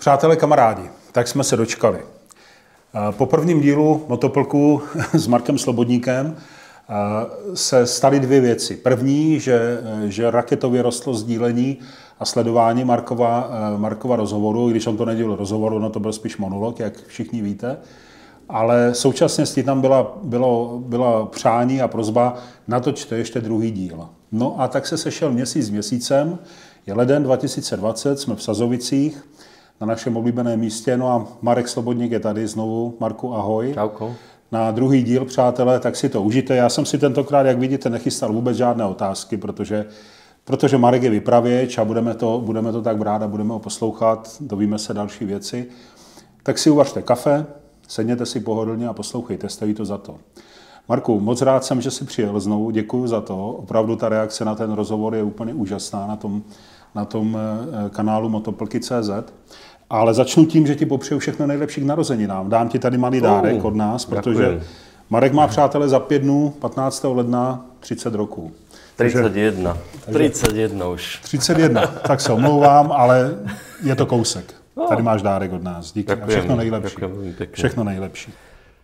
Přátelé, kamarádi, tak jsme se dočkali. Po prvním dílu Motoplku s Markem Slobodníkem se staly dvě věci. První, že raketově rostlo sdílení a sledování Markova rozhovoru, i když on to nedělal rozhovoru, no to byl spíš monolog, jak všichni víte. Ale současně s tím tam byla přání a prosba, natočte ještě druhý díl. No a tak se sešel měsíc s měsícem, je leden 2020, jsme v Sazovicích, na našem oblíbeném místě, no a Marek Slobodník je tady znovu. Marku, ahoj. Čauko. Na druhý díl, přátelé, tak si to užijte. Já jsem si tentokrát, jak vidíte, nechystal vůbec žádné otázky, protože Marek je vypravěč a budeme to tak brát a budeme ho poslouchat, dovíme se další věci. Tak si uvařte kafe, sedněte si pohodlně a poslouchejte, stojí to za to. Marku, moc rád jsem, že jsi přijel znovu, děkuji za to. Opravdu ta reakce na ten rozhovor je úplně úžasná na tom kanálu Motoplky.cz. Ale začnu tím, že ti popřeju všechno nejlepší k narozeninám. Dám ti tady malý dárek od nás, protože děkujem. Marek má, přátelé, za 5 dnů, 15. ledna, 30 roků. 31. 31 už. 31, tak se omlouvám, ale je to kousek. Tady máš dárek od nás. Díky a všechno nejlepší. Všechno nejlepší.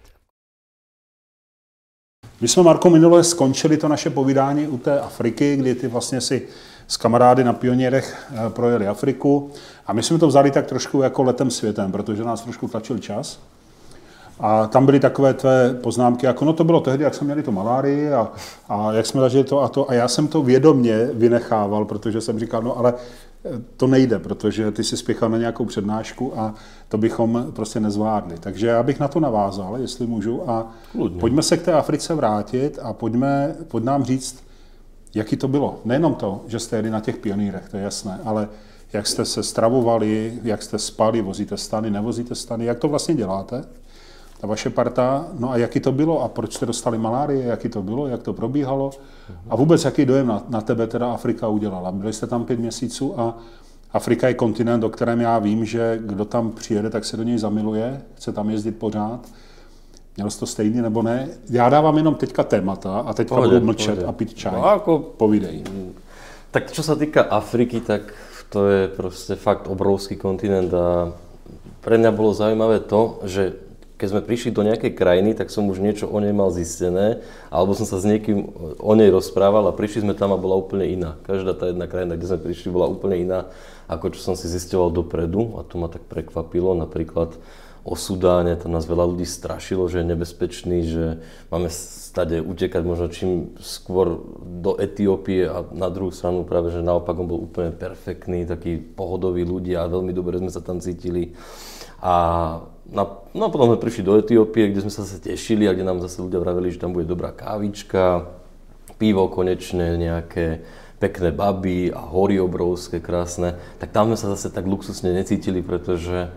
My jsme, Marko, minule skončili to naše povídání u té Afriky, kdy ty vlastně si s kamarády na Pionýrech projeli Afriku. A my jsme to vzali tak trošku jako letem světem, protože nás trošku tlačil čas. A tam byly takové tvé poznámky, jako no to bylo tehdy, jak jsme měli to malárii a jak jsme zažili to a to. A já jsem to vědomě vynechával, protože jsem říkal, no ale to nejde, protože ty jsi spěchal na nějakou přednášku a to bychom prostě nezvládli. Takže já bych na to navázal, jestli můžu. A pojďme se k té Africe vrátit a pojď nám říct, jaký to bylo. Nejenom to, že jste jeli na těch Pionýrech, to je jasné, ale jak jste se stravovali, jak jste spali, vozíte stany, nevozíte stany, jak to vlastně děláte, ta vaše parta, no a jaký to bylo a proč jste dostali malárie, jaký to bylo, jak to probíhalo a vůbec jaký dojem na tebe teda Afrika udělala. Byli jste tam 5 měsíců a Afrika je kontinent, o kterém já vím, že kdo tam přijede, tak se do něj zamiluje, chce tam jezdit pořád. Měl jsi to stejný nebo ne? Já dávám jenom teďka témata a teďka budu mlčet a pít čaj. No, povídej. Tak čo sa týka Afriky, tak to je proste fakt obrovský kontinent a pre mňa bolo zaujímavé to, že keď sme prišli do nejakej krajiny, tak som už niečo o nej mal zistené, alebo som sa s niekým o nej rozprával a prišli sme tam a bola úplne iná. Každá tá jedna krajina, kde sme prišli, bola úplne iná, ako čo som si zisťoval dopredu a to ma tak prekvapilo. Napríklad o Sudáne, tam nás veľa ľudí strašilo, že je nebezpečný, že máme stade utekať možno čím skôr do Etiópie a na druhú stranu práve, že naopak on bol úplne perfektný, taký pohodový ľudia a veľmi dobre sme sa tam cítili. A potom sme prišli do Etiópie, kde sme sa zase tešili a kde nám zase ľudia vraveli, že tam bude dobrá kávička, pivo konečne, nejaké pekné baby a hory obrovské, krásne. Tak tam sme sa zase tak luxusne necítili, pretože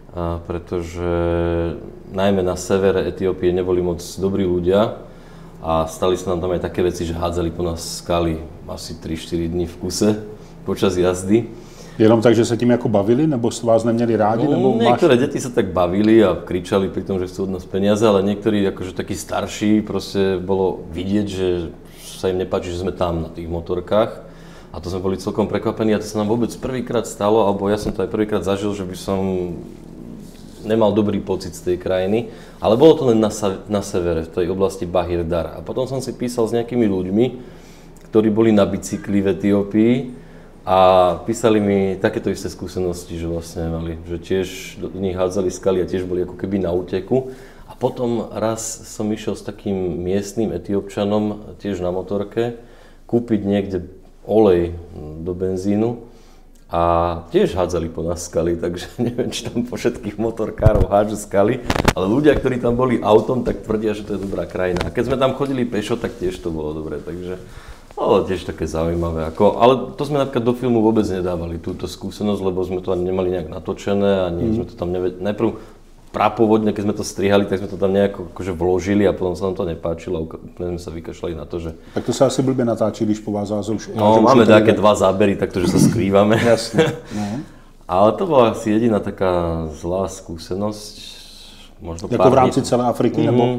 najmä na severe Etiópie neboli moc dobrí ľudia a stali sa nám tam aj také veci, že hádzali po nás skaly asi 3-4 dní v kuse počas jazdy. Jenom tak, že se tím jako bavili, nebo vás neměli rádi? Nebo niektoré deti sa tak bavili a kričali pri tom, že chcú od nás peniaze, ale niektorí akože takí starší, proste bolo vidieť, že sa im nepáči, že sme tam na tých motorkách. A to sme boli celkom prekvapení a to sa nám vôbec prvýkrát stalo, alebo ja som to aj prvýkrát zažil, že by som nemal dobrý pocit z tej krajiny, ale bolo to len na severe, v tej oblasti Bahir Dar. A potom som si písal s nejakými ľuďmi, ktorí boli na bicykli v Etiópii a písali mi takéto isté skúsenosti, že vlastne mali, že tiež do nich hádzali skaly a tiež boli ako keby na úteku. A potom raz som išiel s takým miestnym Etiópčanom, tiež na motorke, kúpiť niekde olej do benzínu a tiež hádzali po nás skaly, takže neviem, či tam po všetkých motorkárov hádžu skaly, ale ľudia, ktorí tam boli autom, tak tvrdia, že to je dobrá krajina. A keď sme tam chodili pešo, tak tiež to bolo dobré, takže ale tiež také zaujímavé. Ale to sme napríklad do filmu vôbec nedávali, túto skúsenosť, lebo sme to ani nemali nejak natočené, ani sme to tam najprv prapôvodne, keď sme to strihali, tak sme to tam nejako akože vložili a potom sa nám to nepáčilo a úplne sme sa vykašľali na to, že... Tak to sa asi blbě natáčí, když po vás zázor už... No, máme také 2 zábery, takto, že sa skrývame. Jasne. No. Ale to bola asi jediná taká zlá skúsenosť. Možno jako v rámci celé Afriky, nebo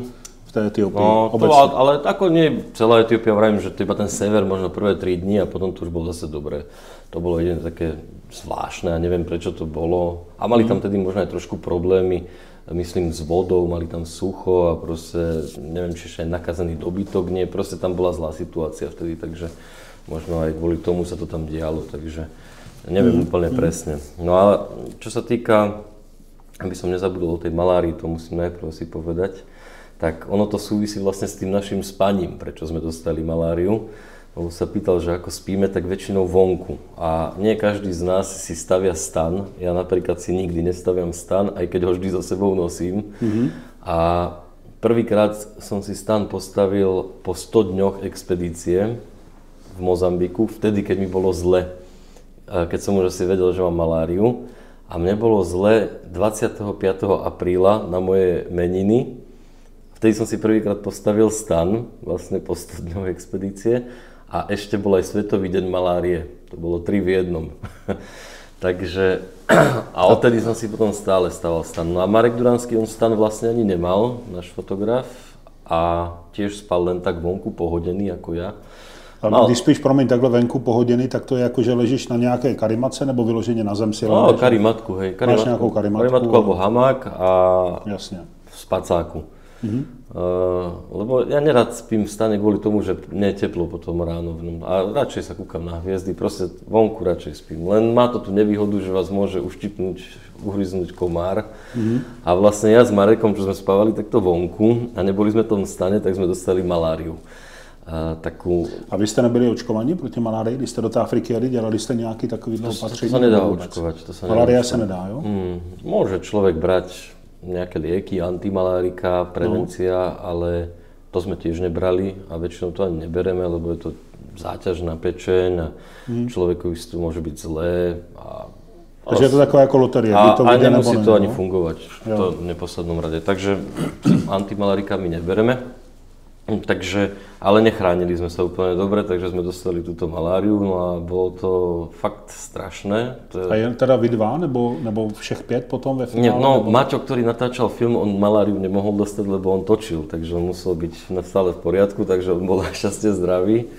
v té Etiópii? No, ale ako nie celá Etiópia, vravím, že to iba ten sever, možno prvé 3 dni a potom to už bolo zase dobré. To bolo jedno také zvláštne a neviem prečo to bolo. A mali tam tedy možno aj trošku problémy, myslím, s vodou, mali tam sucho a proste, neviem, či ešte aj nakazený dobytok, nie, proste tam bola zlá situácia vtedy, takže možno aj kvôli tomu sa to tam dialo, takže neviem úplne presne. No ale čo sa týka, aby som nezabudol o tej malárii, to musím najprv si povedať, tak ono to súvisí vlastne s tým našim spaním, prečo sme dostali maláriu. Lebo sa pýtal, že ako spíme, tak väčšinou vonku. A nie každý z nás si stavia stan. Ja napríklad si nikdy nestaviam stan, aj keď ho vždy so sebou nosím. A prvýkrát som si stan postavil po 100 dňoch expedície v Mozambiku, vtedy, keď mi bolo zle. Keď som už asi vedel, že mám maláriu. A mne bolo zle 25. apríla na moje meniny. Vtedy som si prvýkrát postavil stan, vlastne po 100 dňoch expedície. A ešte bol aj Svetový deň malárie. To bolo 3 v jednom. Takže, a odtedy som si potom stále staval stan. No a Marek Duranský, on stan vlastne ani nemal, náš fotograf. A tiež spal len tak vonku, pohodený ako ja. Ale když spíš, promiň, takhle venku pohoděný, tak to je jako, že ležíš na nějaké karimatce nebo vyloženě na zem si ležíš? No, karimatku, hej. Máš nějakou karimatku? Karimatku alebo hamák a jasně. v spacáku. Lebo ja nerad spím v stane kvôli tomu, že nie je teplo potom ráno v ňom. A radšej sa kúkam na hviezdy, proste vonku radšej spím. Len má to tú nevýhodu, že vás môže uštipnúť, uhryznúť komár. A vlastne ja s Marekom, čo sme spávali takto vonku a neboli sme v tom stane, tak sme dostali maláriu. A vy jste nebyli očkovaní proti malárii, když jste do té Afriky jeli, dělali jste nějaký takový opatření? To sa nedá očkovať. Malária sa nedá, jo? Môže človek brať nejaké lieky, antimalárika, prevencia, ale to sme tiež nebrali a väčšinou to ani nebereme, lebo je to záťaž na pečeň a človekovi si to môže byť zlé. Takže je to taková ako loterie. A nemusí to ani fungovať v neposlednom rade. Takže antimalárika my nebereme. Takže, ale nechránili sme sa úplne dobre, takže sme dostali túto maláriu, no a bolo to fakt strašné. A jen teda vy dva, nebo všech 5 potom ve finále? Nie, no Maťo, ktorý natáčal film, on maláriu nemohol dostať, lebo on točil, takže on musel byť stále v poriadku, takže on bol našťastie zdravý.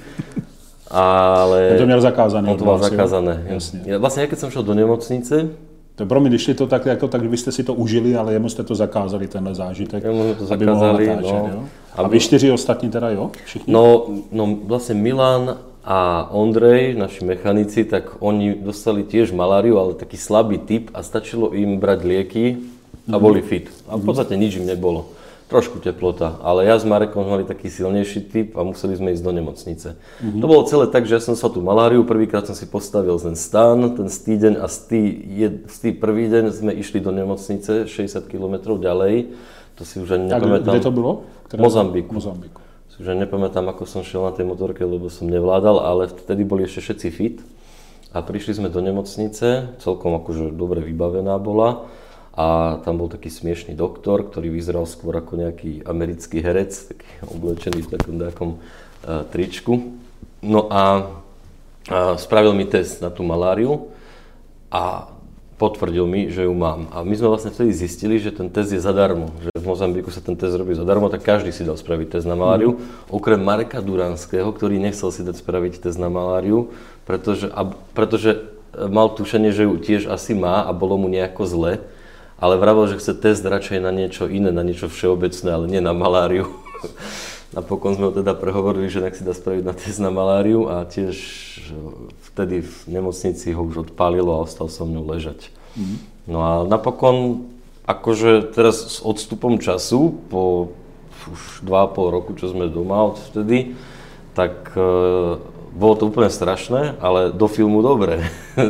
Ale... On to měl zakázané. On to mal zakázané. Ja, vlastne, keď som šiel do nemocnice, pro mě, když to tak, jako, tak vy jste si to užili, ale jemu jste to zakázali, tenhle zážitek, jemu to zakázali, natáčet, no. A vy 4 ostatní teda, jo? Všichni? No vlastne Milan a Ondrej, naši mechanici, tak oni dostali tiež maláriu, ale taký slabý typ a stačilo im brať lieky a boli fit. A v podstate nič im nebolo. Trošku teplota, ale ja s Marekom mali taký silnejší typ a museli sme ísť do nemocnice. To bolo celé tak, že ja som sa tú maláriu, prvýkrát som si postavil ten stan, ten týždeň a z prvý deň sme išli do nemocnice 60 km ďalej. To si už ani nepamätám. A kde to bylo? Mozambiku. Si už ani nepamätám, ako som šiel na tej motorke, lebo som nevládal, ale vtedy boli ešte všetci fit. A prišli sme do nemocnice, celkom akože dobre vybavená bola. A tam bol taký smiešný doktor, ktorý vyzeral skôr ako nejaký americký herec, taký oblečený v takom nejakom tričku. No a spravil mi test na tú maláriu a potvrdil mi, že ju mám. A my sme vlastne vtedy zistili, že ten test je zadarmo, že v Mozambiku sa ten test robí zadarmo, tak každý si dal spraviť test na maláriu, okrem Mareka Duranského, ktorý nechcel si dať spraviť test na maláriu, pretože mal tušenie, že ju tiež asi má a bolo mu nejako zle. Ale vravel, že chce test radšej na niečo iné, na niečo všeobecné, ale nie na maláriu. Napokon sme ho teda prehovorili, že nech si dá spraviť na test na maláriu a tiež vtedy v nemocnici ho už odpálilo a ostal som ňou ležať. No a napokon, akože teraz s odstupom času, po už 2,5 roku, čo sme doma odvtedy, tak bolo to úplne strašné, ale do filmu dobre.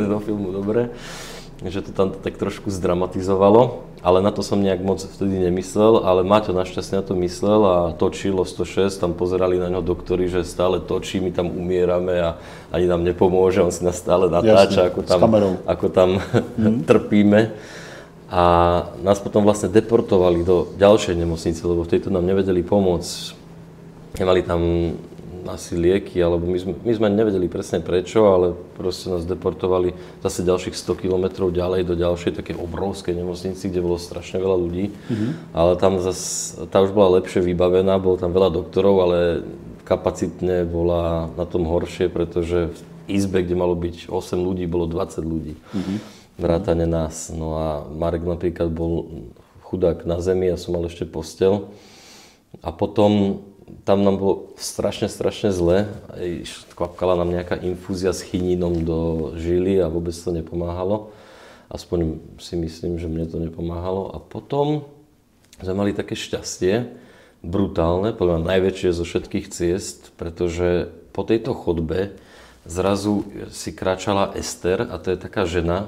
Že to tam tak trošku zdramatizovalo, ale na to som nejak moc vtedy nemyslel, ale Maťo našťastne na to myslel a točilo 106, tam pozerali na ňo doktori, že stále točí, my tam umierame a ani nám nepomôže, on si nás stále natáča, ako tam trpíme. A nás potom vlastne deportovali do ďalšej nemocnice, lebo v tejto nám nevedeli pomôcť. Nemali tam asi lieky, alebo my sme nevedeli presne prečo, ale proste nás deportovali zase ďalších 100 kilometrov ďalej do ďalšej také obrovskej nemocnici, kde bolo strašne veľa ľudí. Ale tam zase, tá už bola lepšie vybavená, bolo tam veľa doktorov, ale kapacitne bola na tom horšie, pretože v izbe, kde malo byť 8 ľudí, bolo 20 ľudí. Vrátane nás. No a Marek napríklad bol chudák na zemi, ja som mal ešte posteľ. A potom tam nám bolo strašne zle. Kvapkala nám nejaká infúzia s chinínom do žily a vôbec to nepomáhalo. Aspoň si myslím, že mne to nepomáhalo. A potom sme mali také šťastie, brutálne, podľa mňa najväčšie zo všetkých ciest, pretože po tejto chodbe zrazu si kráčala Ester, a to je taká žena,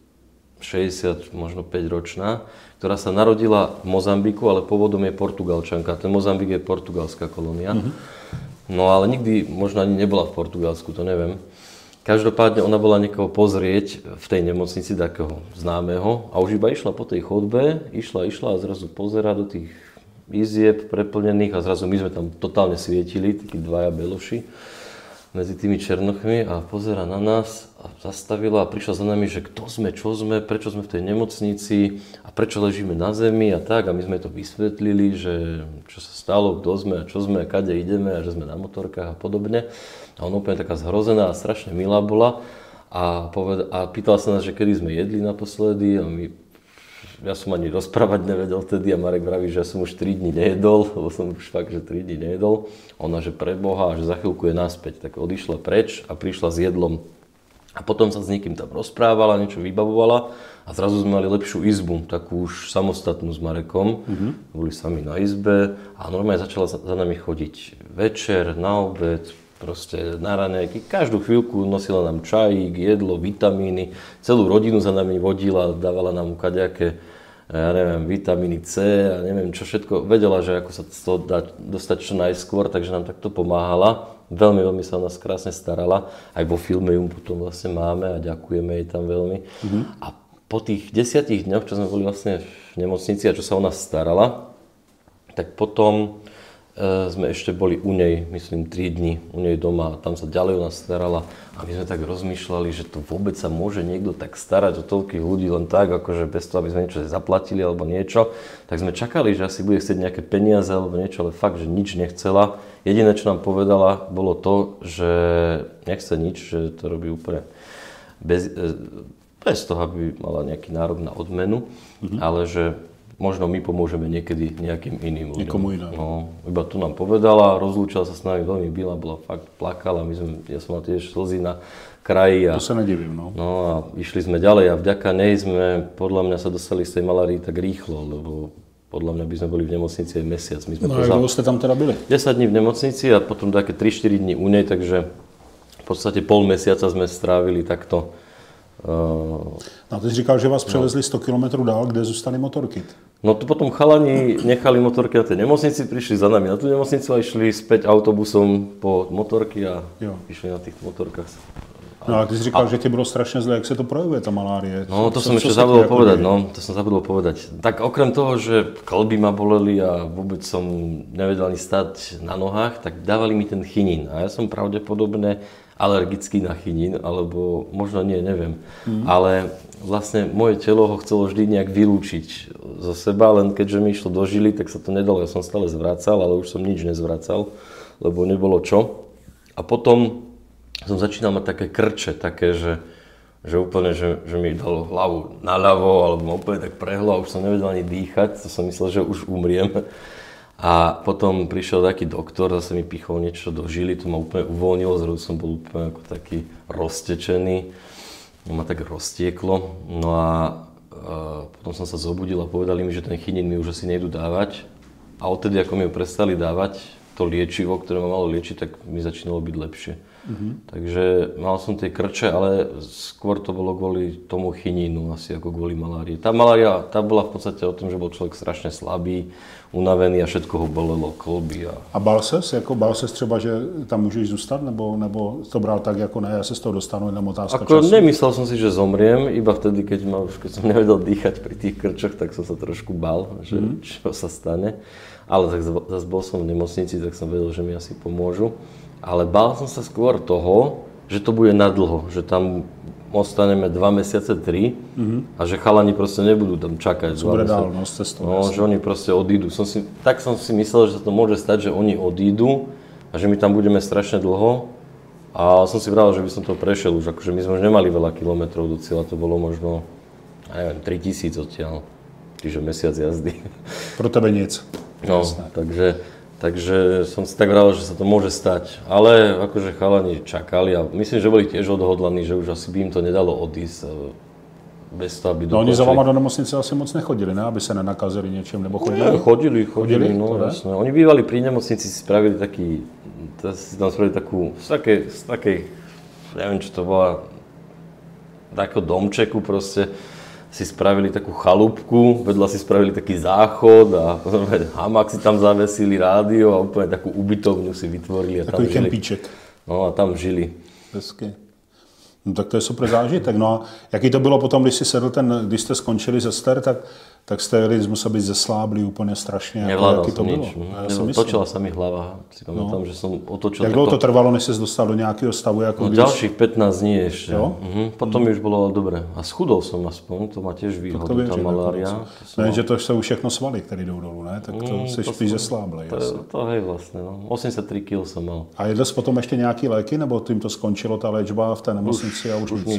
60, možno 5-ročná, ktorá sa narodila v Mozambiku, ale pôvodom je Portugalčanka. Ten Mozambik je portugalská kolónia. No ale nikdy možno ani nebola v Portugalsku, to neviem. Každopádne ona bola niekoho pozrieť v tej nemocnici, takého známeho, a už iba išla po tej chodbe, išla a zrazu pozerá do tých izieb preplnených a zrazu my sme tam totálne svietili, takí dvaja beloši medzi tými černochmi a pozera na nás a zastavila a prišla za nami, že kto sme, čo sme, prečo sme v tej nemocnici a prečo ležíme na zemi a tak. A my sme to vysvetlili, že čo sa stalo, kto sme a čo sme a kade ideme a že sme na motorkách a podobne. A ona úplne taká zhrozená a strašne milá bola a pýtala sa nás, že kedy sme jedli naposledy a ja som ani rozprávať nevedel vtedy a Marek vraví, že ja som už 3 dní nejedol, lebo som už fakt, že 3 dní nejedol. Ona, že pre Boha, že za chvíľku je naspäť, tak odišla preč a prišla s jedlom. A potom sa s niekým tam rozprávala, niečo vybavovala a zrazu sme mali lepšiu izbu, takú už samostatnú s Marekom. Boli sami na izbe a normálne začala za nami chodiť večer, na obed, proste na raňajky. Každú chvíľku nosila nám čajík, jedlo, vitamíny, celú rodinu za nami vodila, dávala nám kadejaké, ja neviem, vitamíny C a neviem čo všetko. Vedela, že ako sa z toho dá dostať čo najskôr, takže nám takto pomáhala. Veľmi sa o nás krásne starala. Aj vo filme ju potom vlastne máme a ďakujeme jej tam veľmi. A po tých 10 dňoch, čo sme boli vlastne v nemocnici a čo sa o nás starala, tak potom sme ešte boli u nej, myslím, 3 dni u nej doma a tam sa ďalej o nás starala a my sme tak rozmýšľali, že to vôbec sa môže niekto tak starať o toľkých ľudí len tak, akože bez toho, aby sme niečo zaplatili alebo niečo, tak sme čakali, že asi bude chcieť nejaké peniaze alebo niečo, ale fakt, že nič nechcela. Jediné, čo nám povedala, bolo to, že nechce nič, že to robí úplne bez toho, aby mala nejaký nárok na odmenu, ale že možno my pomôžeme niekedy nejakým iným ľuďom. Niekomu inému. No, iba tu nám povedala, rozlúčila sa s nami, veľmi milá, bola fakt, plakala, ja som mal tiež slzy na kraji. To sa nedivím, no. No a išli sme ďalej a vďaka nej sme, podľa mňa, sa dostali z tej malárii tak rýchlo, lebo podľa mňa by sme boli v nemocnici aj mesiac. My sme no a dlho ste tam teda byli? 10 dní v nemocnici a potom také 3-4 dní u nej, takže v podstate pol mesiaca sme strávili takto. No ty jsi říkal, že vás převezli 100 km dál, kde zůstaly motorky. No to potom chalani nechali motorky na tej nemocnici, prišli za nami na tú nemocnicu a išli späť autobusom po motorky a išli na tých motorkách. No ale ty jsi říkal, že ti bylo strašně zle, jak se to projevuje, ta malárie. No to som ešte zabudol povedať, Tak okrem toho, že kĺby ma boleli a vôbec som nevedel ani stať na nohách, tak dávali mi ten chinín. A ja som pravdepodobne alergický na chinín, alebo možno nie, neviem. Ale vlastne moje telo ho chcelo vždy nejak vylúčiť zo seba, len keďže mi išlo do žily, tak sa to nedalo. Ja som stále zvracal, ale už som nič nezvracal, lebo nebolo čo. A potom som začínal mať také krče, také, že úplne, že mi dalo hlavu naľavo, alebo ma úplne tak prehlo a už som nevedel ani dýchať, to som myslel, že už umriem. A potom prišiel taký doktor, zase mi pichol niečo do žily, to ma úplne uvoľnilo, zrazu som bol úplne ako taký roztečený, ma tak roztieklo. No a potom som sa zobudil a povedali mi, že ten chinín mi už asi nejdu dávať. A odtedy, ako mi ho prestali dávať, to liečivo, ktoré ma malo liečiť, tak mi začínalo byť lepšie. Takže mal som tie krče, ale skôr to bolo kvôli tomu chinínu, asi ako kvôli malárii. Tá malária, tá bola v podstate o tom, že bol človek strašne slabý, unavený a všetko ho bolelo, kĺby. A bál ses třeba, že tam můžeš zůstat, nebo to bral tak, jako ne, ja sa z toho dostanu, jenom otázka času? Nemyslel som si, že zomriem, iba vtedy, keď som nevedel dýchať pri tých krčoch, tak som sa trošku bál, že čo sa stane. ale tak zase bol som v nemocnici, tak som vedel, že mi asi pomôžu. Ale bál som sa skôr toho, že to bude nadlho, že tam ostaneme 2 mesiace, 3 a že chalani proste nebudú tam čakať. No, že oni proste odídu. Tak som si myslel, že sa to môže stať, že oni odídu a že my tam budeme strašne dlho. A som si vral, že by som to prešiel už, akože my sme už nemali veľa kilometrov do cieľa, to bolo možno, ja neviem, 3000 odtiaľ, čiže mesiac jazdy. Pro tebe nic. No, takže som si tak vral, že sa to môže stať, ale akože chalani čakali a myslím, že boli tiež odhodlaní, že už asi by im to nedalo odísť bez toho, aby dokončili. No oni za vama do nemocnice asi moc nechodili, ne? Aby sa nenakazili niečím, nebo chodili? Chodili, no jasné. Oni bývali pri nemocnici, si spravili takú, z takej, neviem čo to bola, takého domčeku proste, si spravili takú chalúbku, vedľa si spravili taký záchod a hamak si tam zavesili, rádio a úplne takú ubytovňu si vytvorili a tam žili. Takový kempíček. No a tam žili. Hezky. No tak to je super zážitek. No a jaký to bylo potom, když jste skončili ze Ster, tak jste musel být zesláblý úplně strašně. Nevládal som nič. Točila sa mi hlava. Si pamätám, že som otočil. Jak dlouho to trvalo, než ses dostal do nějakého stavu? Jako ďalších 15 dní ešte. Potom mi už bolo dobre. A schudol som aspoň, to má tiež výhodu, tá malária. Ne, že to jsou všechno svaly, které jdou dolů, ne? Tak to jsi spíš zesláblej. To hej vlastne, no. 83 kg som mal. A jedl jsi potom ještě nějaký léky, nebo tím to skončilo ta léčba v té nemocnici?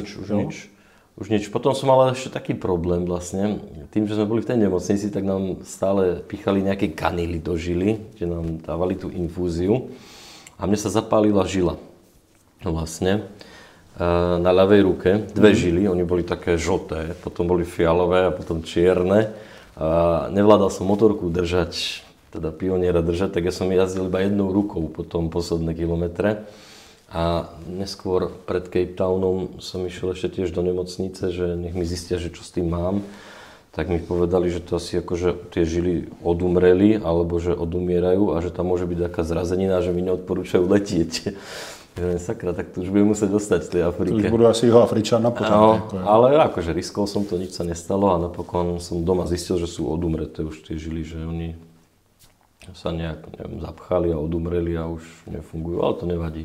Už nič. Potom som mal ešte taký problém vlastne. Tým, že sme boli v tej nemocnici, tak nám stále pichali nejaké kanily do žily, kde nám dávali tú infúziu. A mne sa zapálila žila vlastne na ľavej ruke. 2 žily, oni boli také žlté, potom boli fialové a potom čierne. A nevládal som motorku držať, teda pioniera držať, tak ja som jazdil iba jednou rukou potom posledné kilometre. A neskôr pred Cape Townom som išiel ešte tiež do nemocnice, že nech mi zistia, že čo s tým mám. Tak mi povedali, že to asi akože tie žily odumreli, alebo že odumierajú a že tam môže byť taká zrazenina, že mi neodporúčajú letieť. Sakra, tak to už budem musieť dostať z tej Afrike. To už budú asi jeho Afričana potom. No, ale akože riskol som to, nič sa nestalo a napokon som doma zistil, že sú odumreté už tie žily, že oni sa nejak zapchali a odumreli a už nefungujú, ale to nevadí.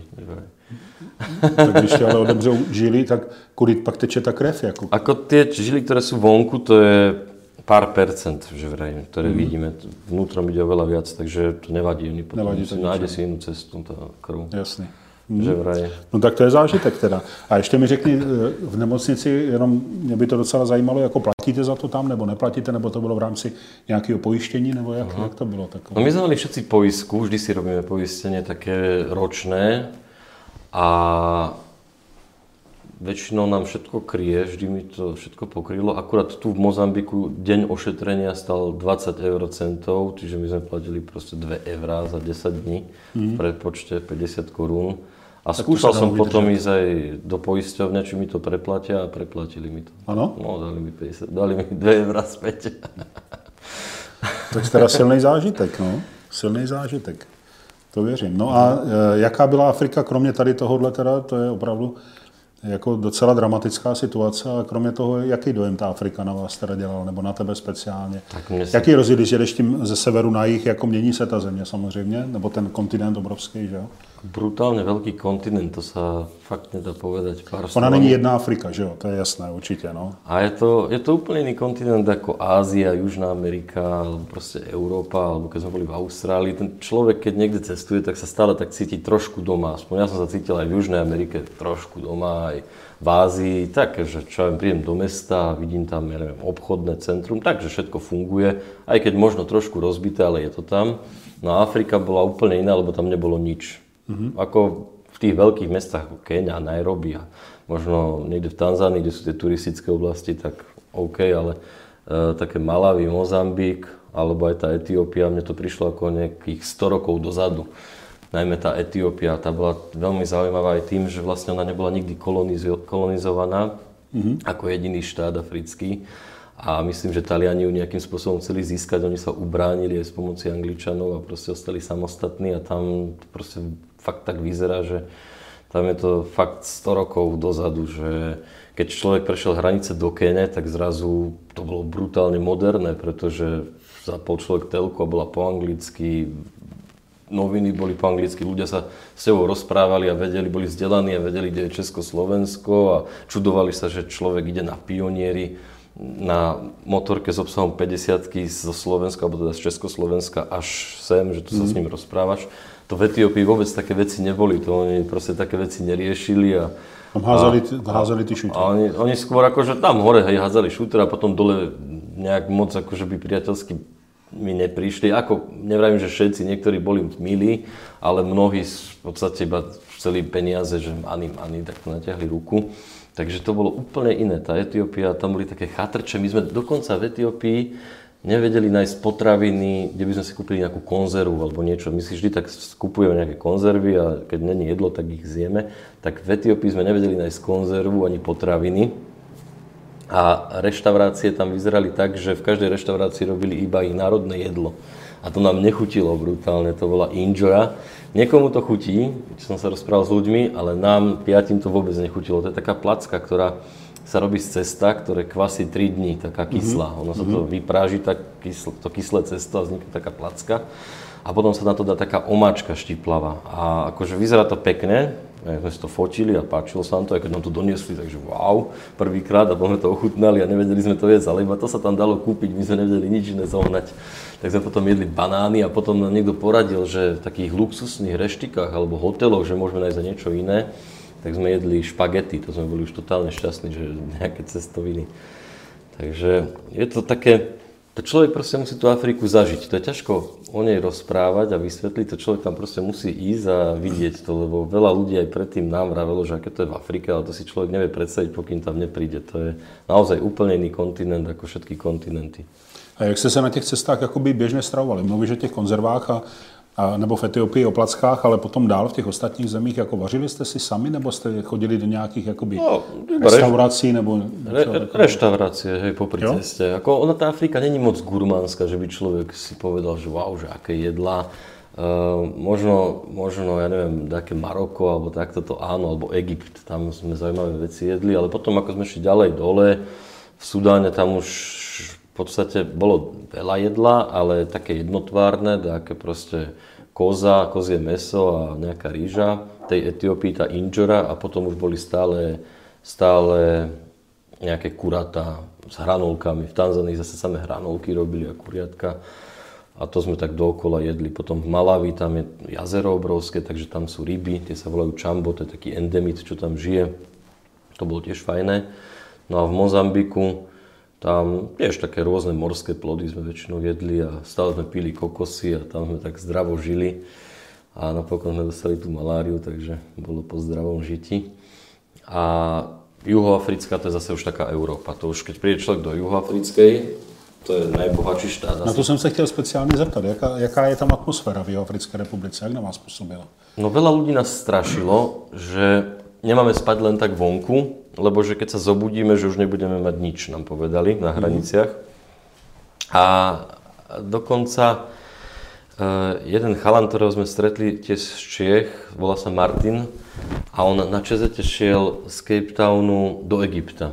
Tak když ti ale odemřou žily, tak kudy pak teče ta krev? Ako tie žily, ktoré sú vonku, to je pár percent, že vraj, ktoré vidíme. Vnútrom ide oveľa viac, takže to nevadí. Oni potom nájde si inú cestu, tá krv. Jasný. Že vraj. No tak to je zážitek teda. A ještě mi řekni, v nemocnici, jenom mě by to docela zajímalo, jako platíte za to tam, nebo neplatíte, nebo to bylo v rámci nějakého pojištění, nebo jak to bylo takové? No my sme mali všetci poistku, vždy si robíme poistenie také ročné a väčšinou nám všetko kryje, vždy mi to všetko pokrylo. Akurát tu v Mozambiku deň ošetrenia stal 20 eurocentov, čiže my sme platili proste 2 eurá za 10 dní v predpočte 50 korún. A skúšal som potom ísť aj do poisťovne, či mi to preplatia a preplatili mi to. Ano? No, dali mi 2 eurá späť. Tak teda silný zážitek, no. Silný zážitek. To věřím. No a jaká byla Afrika, kromě tady tohohle teda, to je opravdu jako docela dramatická situace, a kromě toho, jaký dojem ta Afrika na vás teda dělala, nebo na tebe speciálně? Jaký rozdíl, když jedeš tím ze severu na jih, jako mění se ta země samozřejmě, nebo ten kontinent obrovský, že jo? Brutálne veľký kontinent, to sa fakt nedá povedať. Ona není jedna Afrika, že jo? To je jasné, určitě, no. A je to úplne iný kontinent ako Ázia, Južná Amerika, alebo proste Európa, alebo keď sme boli v Austrálii. Ten človek, keď niekde cestuje, tak sa stále tak cíti trošku doma. Aspoň ja som sa cítil aj v Južnej Amerike trošku doma, aj v Ázii, tak, že čo ja prídem do mesta, vidím tam, ja neviem, obchodné centrum, takže všetko funguje, aj keď možno trošku rozbité, ale je to tam. No a Afrika bola úplne iná, lebo tam nebolo nič. Ako v tých veľkých mestách ako Kenia, Nairobi a možno niekde v Tanzánii, kde sú tie turistické oblasti, tak OK, ale také Malawi, Mozambik alebo aj tá Etiópia, mne to prišlo ako nejakých 100 rokov dozadu. Najmä tá Etiópia, tá bola veľmi zaujímavá aj tým, že vlastne ona nebola nikdy kolonizovaná ako jediný štát africký. A myslím, že Taliani ju nejakým spôsobom chceli získať, oni sa ubránili aj s pomoci Angličanov a proste ostali samostatní a tam to proste fakt tak vyzerá, že tam je to fakt 100 rokov dozadu, že keď človek prešiel hranice do Kene, tak zrazu to bolo brutálne moderné, pretože zapol človek telku a bola po anglicky, noviny boli po anglicky, ľudia sa s tebou rozprávali a vedeli, boli vzdelaní a vedeli, kde je Československo a čudovali sa, že človek ide na pionieri na motorke s obsahom 50-ky zo Slovenska, alebo teda z Československa až sem, že tu sa s ním rozprávaš. To v Etiópii vôbec také veci neboli, to oni proste také veci neriešili a tam házali ty šútre. Oni skôr akože tam hore házali šútre a potom dole nejak moc akože by priateľsky mi neprišli. Ako, nevravím, že všetci, niektorí boli milí, ale mnohí v podstate iba chceli peniaze, že ani, tak natiahli ruku. Takže to bolo úplne iné. Tá Etiópia, tam boli také chatrče. My sme dokonca v Etiópii nevedeli nájsť potraviny, kde by sme si kúpili nejakú konzervu alebo niečo. My si vždy tak kupujeme nejaké konzervy a keď není jedlo, tak ich zjeme. Tak v Etiópii sme nevedeli nájsť konzervu ani potraviny. A reštaurácie tam vyzerali tak, že v každej reštaurácii robili iba ich národné jedlo. A to nám nechutilo brutálne, to bola injera. Niekomu to chutí, keď som sa rozprával s ľuďmi, ale nám, piatim, to vôbec nechutilo. To je taká placka, ktorá sa robí z cesta, ktoré kvasí 3 dní, taká kyslá. Ono sa to vypráži, to kyslé cesto a vznikne taká placka. A potom sa na to dá taká omáčka štiplavá. A akože vyzerá to pekne, sme si to fotili a páčilo sa nám to, aj keď nám to doniesli, takže wow, prvýkrát a potom sme to ochutnali a nevedeli sme to jesť, ale iba to sa tam dalo kúpiť, my sme nevedeli nič iné zohnať. Tak sme potom jedli banány a potom nám niekto poradil, že v takých luxusných reštikách alebo hoteloch, že môžeme nájsť za niečo iné, tak sme jedli špagety, to sme boli už totálne šťastní, že nejaké cestoviny. Takže je to také, to človek proste musí tú Afriku zažiť. To je ťažko o nej rozprávať a vysvetliť, to človek tam proste musí ísť a vidieť to, lebo veľa ľudí aj predtým nám vravelo, že aké to je v Afrike, ale to si človek nevie predstaviť, pokým tam nepríde. To je naozaj úplne iný kontinent ako všetky kontinenty. A jak jste se na těch cestách jakoby běžně stravovali? Mluvíš o těch konzervách nebo v Etiopii o plackách, ale potom dál v těch ostatních zemích, jako vařili jste si sami, nebo jste chodili do nějakých jakoby restaurací, nebo reštaurácie, hej, popri ceste. Ako ona, tá Afrika není moc gurmánska, že by človek si povedal, že wow, že aké jedlá. Možno, ja neviem, také Maroko, alebo takto to áno, alebo Egypt, tam sme zaujímavé veci jedli, ale potom, ako sme šli ďalej dole, v Sudáne, tam už v podstate bolo veľa jedla, ale také jednotvárne, také proste kozie mäso a nejaká rýža. V tej Etiópii tá injera a potom už boli stále nejaké kuratá s hranolkami. V Tanzánii zase samé hranolky robili a kuriatka. A to sme tak dookola jedli. Potom v Malawi, tam je jazero obrovské, takže tam sú ryby, tie sa volajú chambo, to je taký endemit, čo tam žije. To bolo tiež fajné. No a v Mozambiku, tam tiež také rôzne morské plody sme väčšinou jedli a stále sme pili kokosy a tam sme tak zdravo žili. A napokon sme dostali tú maláriu, takže bolo po zdravom žiti. A juhoafrická, to je zase už taká Európa. To už keď príde človek do juhoafrickej, to je najbohatší štát. Na to jsem se chtěl speciálně zeptat. Jaká je tam atmosféra v Jihoafrické republice? Jak na vás působila? No veľa ľudí nás strašilo, že nemáme spať len tak vonku, lebo že keď sa zobudíme, že už nebudeme mať nič, nám povedali na hraniciach. A dokonca jeden chalan, ktorého sme stretli tiež z Čiech, volá sa Martin, a on na ČZ šiel z Cape Townu do Egypta.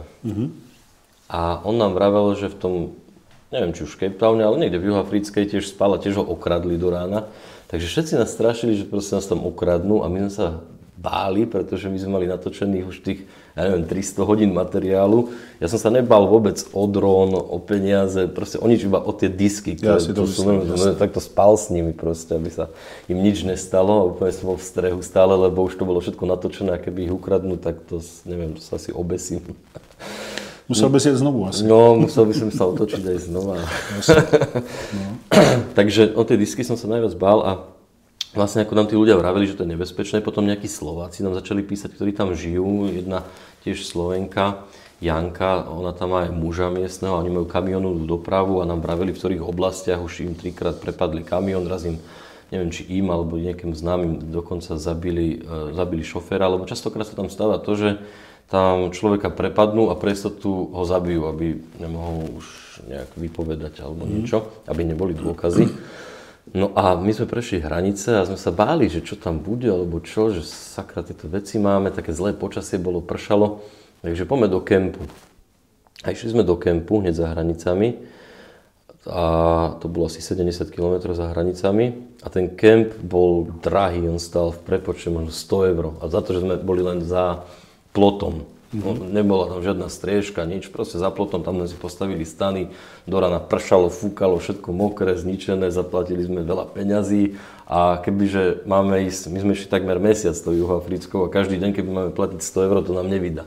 A on nám vravel, že v tom, neviem či už v Cape Towne, ale niekde v Juhoafrickej tiež spal a tiež ho okradli do rána. Takže všetci nás strašili, že proste nás tam okradnú a my sme sa báli, pretože my sme mali natočených už tých, ja neviem, 300 hodín materiálu. Ja som sa nebál vôbec o dron, o peniaze, proste o nič, iba o tie disky, ktoré takto spal s nimi proste, aby sa im nič nestalo a úplne som bol v strehu stále, lebo už to bolo všetko natočené a keby ich ukradnú, tak to, neviem, to sa asi obesím. Musel by si jet znovu asi. No, musel by som sa otočiť aj znova. No. Takže o tie disky som sa najviac bál a vlastne ako nám tí ľudia vraveli, že to je nebezpečné, potom nejakí Slováci nám začali písať, ktorí tam žijú, jedna tiež Slovenka, Janka, ona tam má aj muža miestneho, oni majú kamionovú dopravu a nám vraveli, v ktorých oblastiach už im 3-krát prepadli kamión, raz im, neviem či im alebo nejakým známym dokonca zabili šoféra, lebo častokrát sa tam stáva to, že tam človeka prepadnú a pre istotu ho zabijú, aby nemohol už nejak vypovedať alebo niečo, aby neboli dôkazy. No a my sme prešli hranice a sme sa báli, že čo tam bude, alebo čo, že sakra, tieto veci máme, také zlé počasie bolo, pršalo, takže poďme do kempu. A išli sme do kempu, hneď za hranicami. a to bolo asi 70 km za hranicami a ten kemp bol drahý, on stál v prepočte možno 100 € a za to, že sme boli len za plotom. Nebola tam žiadna striežka, nič, proste za plotom, tam sme si postavili stany, do rána pršalo, fúkalo, všetko mokré, zničené, zaplatili sme veľa peňazí a kebyže máme ísť, my sme išli takmer mesiac tou Juhoafrickou a každý deň, keby máme platiť 100 €, to nám nevydá.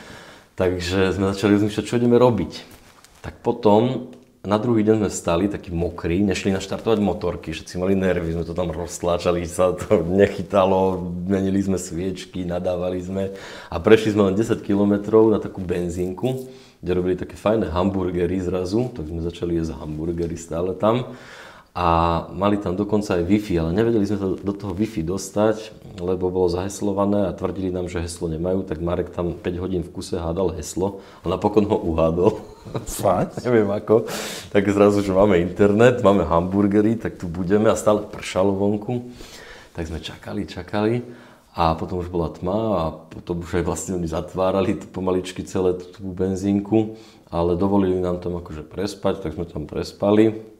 Takže sme začali rozmýšľať, čo ideme robiť. Tak potom na druhý deň sme stali takí mokrí, nešli naštartovať motorky, všetci mali nervy, sme to tam roztláčali, sa to nechytalo, menili sme sviečky, nadávali sme a prešli sme len 10 km na takú benzínku, kde robili také fajné hamburgery zrazu, tak sme začali jesť hamburgery stále tam. A mali tam dokonca aj Wi-Fi, ale nevedeli sme sa do toho Wi-Fi dostať, lebo bolo zaheslované a tvrdili nám, že heslo nemajú, tak Marek tam 5 hodín v kuse hádal heslo a napokon ho uhádol. Fakt? Neviem ako. Tak zrazu, že máme internet, máme hamburgery, tak tu budeme a stále pršalo vonku. Tak sme čakali a potom už bola tma a potom už aj vlastne oni zatvárali pomaličky celé tú benzínku, ale dovolili nám tam akože prespať, tak sme tam prespali.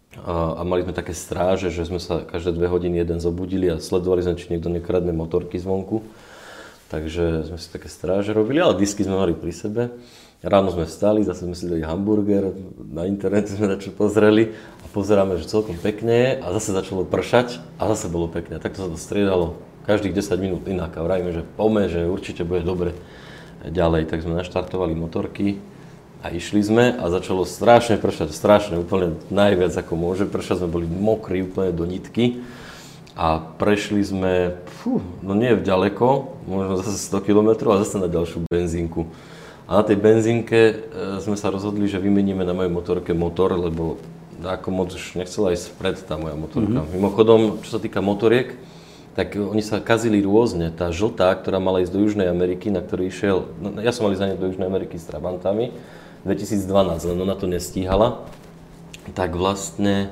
A mali sme také stráže, že sme sa každé 2 hodiny jeden zobudili a sledovali sme, či niekto nekradne motorky zvonku. Takže sme si také stráže robili, ale disky sme mali pri sebe. Ráno sme vstali, zase sme si dali hamburger, na internete sme na čo pozreli a pozeráme, že celkom pekne je a zase začalo pršať a zase bolo pekne. Takto sa to striedalo každých 10 minút inak a vravíme, že poďme, že určite bude dobre ďalej. Tak sme naštartovali motorky. A išli sme a začalo strašne pršať, úplne najviac ako môže pršať, sme boli mokrí úplne do nitky a prešli sme, no nie ďaleko, možno zase 100 km a zase na ďalšiu benzínku. A na tej benzínke sme sa rozhodli, že vymeníme na mojej motorke motor, lebo ako moc už nechcela ísť vpred tá moja motorka. Mimochodom, čo sa týka motoriek, tak oni sa kazili rôzne. Tá žltá, ktorá mala ísť do Južnej Ameriky, na ktorý išiel, no, ja som mal ísť za ne do Južnej Ameriky s Trabantami, 2012, len ona to nestíhala, tak vlastne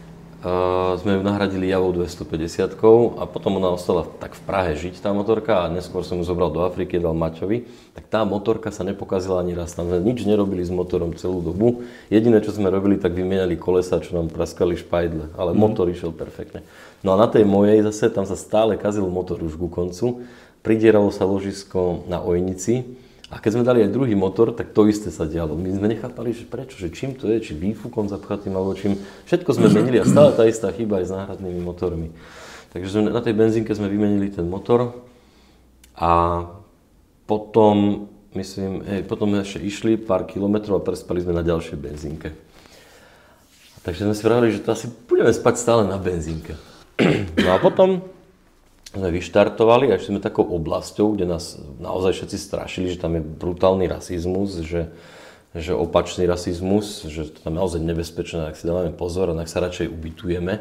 sme ju nahradili Javou 250 a potom ona ostala tak v Prahe žiť tá motorka a neskôr som ju zobral do Afriky, dal Maťovi, tak tá motorka sa nepokazila ani raz, tam sme nič nerobili s motorom celú dobu, jediné čo sme robili, tak vymieniali kolesa, čo nám praskali špajdle, ale motor išiel perfektne. No a na tej mojej zase, tam sa stále kazil motor už ku koncu, pridieralo sa ložisko na Ojnici. A keď sme dali aj druhý motor, tak to isté sa dialo. My sme nechápali, že prečo, že čím to je, či výfukom zapchatým, alebo čím. Všetko sme menili a stále tá istá chyba aj s náhradnými motormi. Takže na tej benzínke sme vymenili ten motor a potom, potom ešte išli pár kilometrov a prespali sme na ďalšej benzínke. Takže sme si vravili, že to asi budeme spať stále na benzínke. No a potom sme vyštartovali a išli sme takou oblasťou, kde nás naozaj všetci strašili, že tam je brutálny rasizmus, že opačný rasizmus, že to tam je naozaj nebezpečné, ak si dávame pozor a ak sa radšej ubytujeme.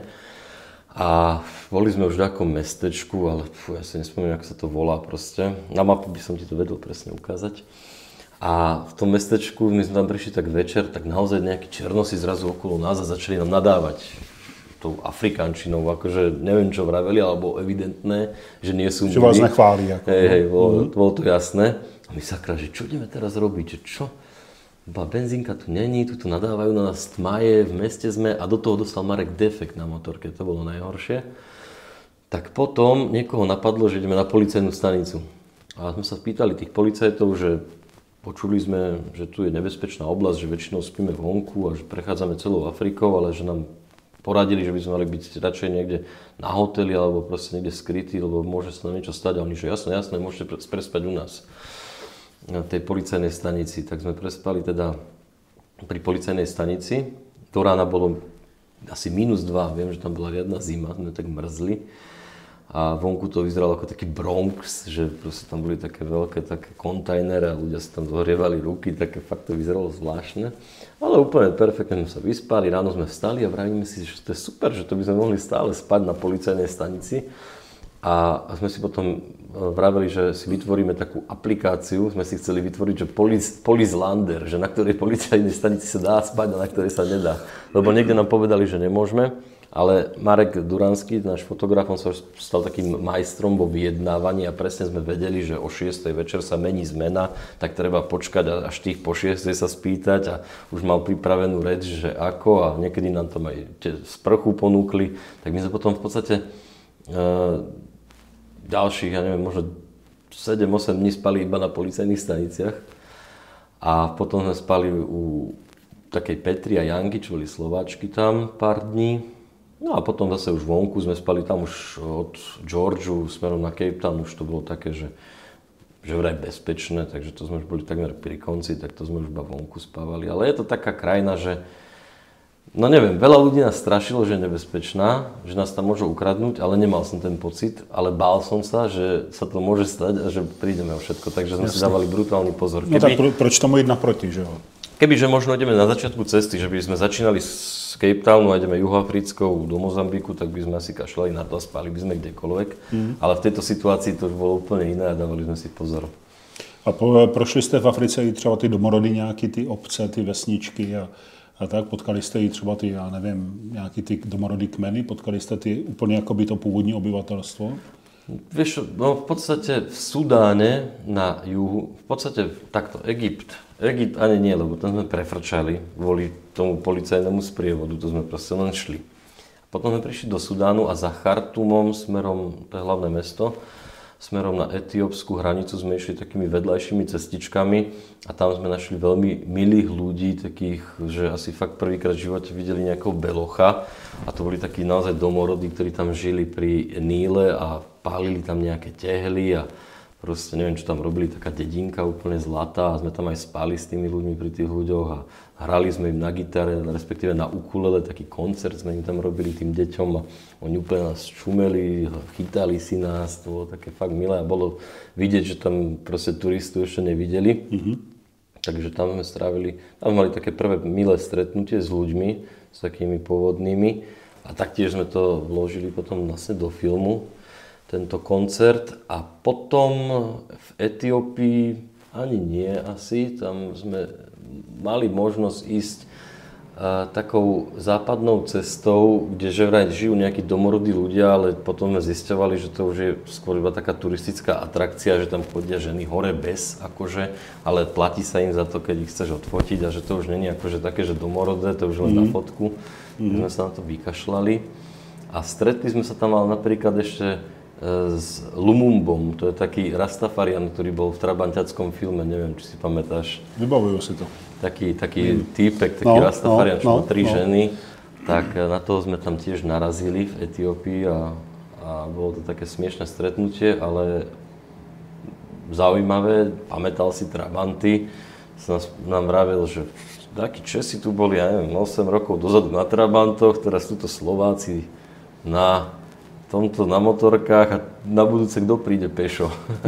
A boli sme už v takom mestečku, ale ja si nespomínam, ako sa to volá proste. Na mapu by som ti to vedel presne ukázať. A v tom mestečku, my sme tam prišli tak večer, tak naozaj nejakí černosi zrazu okolo nás a začali nám nadávať tou afrikančinou, akože neviem čo vraveli, ale bolo evidentné, že nie sú že vás nechváli. Hej, bolo to jasné. A my sakra, že čo ideme teraz robiť, že čo? Benzínka tu není, tu nadávajú na nás tmaje, v meste sme a do toho dostal Marek defekt na motorke, to bolo najhoršie. Tak potom niekoho napadlo, že ideme na policajnú stanicu. A sme sa pýtali tých policajtov, že počuli sme, že tu je nebezpečná oblasť, že väčšinou spíme vonku a že prechádzame celou Afrikou, ale že nám poradili, že by sme mali byť radšej niekde na hoteli alebo proste niekde skrytí, lebo môže sa nám niečo stať. A oni, že jasné, môžete prespať u nás na tej policajnej stanici. Tak sme prespali teda pri policajnej stanici. Do rána bolo asi -2, viem, že tam bola riadna zima, sme tak mrzli. A vonku to vyzeralo ako taký Bronx, že proste tam boli také veľké také kontajnery a ľudia si tam zohrievali ruky, také fakt to vyzeralo zvláštne. Ale úplne perfektne sme sa vyspali, ráno sme vstali a vravíme si, že to je super, že to by sme mohli stále spať na policajnej stanici. A sme si potom vraveli, že si vytvoríme takú aplikáciu, sme si chceli vytvoriť, že Police Lander, že na ktorej policajnej stanici sa dá spať a na ktorej sa nedá. Lebo niekde nám povedali, že nemôžeme. Ale Marek Duranský, náš fotograf, on sa stal takým majstrom vo vyjednávaní a presne sme vedeli, že o 6. večer sa mení zmena, tak treba počkať až tých po 6. sa spýtať a už mal pripravenú reč, že ako a niekedy nám tam aj sprchu ponúkli. Tak my sme potom v podstate ďalších, ja neviem, možno 7-8 dní spali iba na policajných staniciach a potom sme spali u takej Petri a Janky, čo boli Slováčky tam pár dní. No a potom zase už vonku sme spali tam už od Georgiu smerom na Cape Town, už to bolo také, že vraj bezpečné, takže to sme už boli takmer pri konci, tak to sme už iba vonku spávali. Ale je to taká krajina, že no neviem, veľa ľudí nás strašilo, že je nebezpečná, že nás tam môžu ukradnúť, ale nemal som ten pocit, ale bál som sa, že sa to môže stať a že prídeme o všetko, takže sme si dávali brutálny pozor. No tak proč tomu ísť naproti, že jo? Kebyže možno ideme na začiatku cesty, že by sme začínali z Cape Townu a ideme juhoafrickou do Mozambiku, tak by sme asi kašľali na to a spali by sme kdekoľvek. Ale v tejto situácii to už bolo úplne iné a dávali sme si pozor. A prošli jste v Africe i třeba ty domorody, nějaký ty obce, ty vesničky a tak? Potkali jste i třeba ty, já nevím, nějaký ty domorodý kmeny? Potkali jste ty úplně jakoby to původní obyvatelstvo? Vieš, no v podstate v Sudáne na juhu, v podstate takto, Egypt ani nie, lebo tam sme prefrčali kvôli tomu policajnému sprievodu, to sme proste len šli. Potom sme prišli do Sudánu a za Chartumom smerom, to je hlavné mesto, smerom na etiópsku hranicu sme išli takými vedľajšími cestičkami a tam sme našli veľmi milých ľudí, takých, že asi fakt prvýkrát v živote videli nejakého belocha a to boli takí naozaj domorodí, ktorí tam žili pri Níle a pálili tam nejaké tehly a proste neviem, čo tam robili, taká dedinka úplne zlatá a sme tam aj spali s tými ľuďmi pri tých ľuďoch a hrali sme im na gitare, respektíve na ukulele, taký koncert sme im tam robili tým deťom a oni úplne nás čumeli, chytali si nás, to bolo také fakt milé a bolo vidieť, že tam proste turistu ešte nevideli. Takže tam sme strávili, tam mali také prvé milé stretnutie s ľuďmi, s takými pôvodnými a taktiež sme to vložili potom vlastne do filmu, tento koncert a potom v Etiópii ani nie asi, tam sme mali možnosť ísť takou západnou cestou, kde že vraj žijú nejakí domorodí ľudia, ale potom sme zisťovali, že to už je skôr iba taká turistická atrakcia, že tam chodia ženy hore bez, akože, ale platí sa im za to, keď ich chceš odfotiť a že to už nie je akože také, že domorodé, to už len na fotku. Sme sa na to vykašľali a stretli sme sa tam ale napríklad ešte s Lumumbom, to je taký Rastafarian, ktorý bol v trabantiackom filme, neviem, či si pamätáš. Vybavujú si to. Taký týpek, taký Rastafarian, čo má 3 ženy, tak na toho sme tam tiež narazili v Etiópii a bolo to také smiešné stretnutie, ale zaujímavé, pamätal si Trabanty, nám vravel, že takí Česi tu boli, ja neviem, 8 rokov dozadu na Trabantoch, teraz sú to Slováci na motorkách a na budúce kto príde pešo.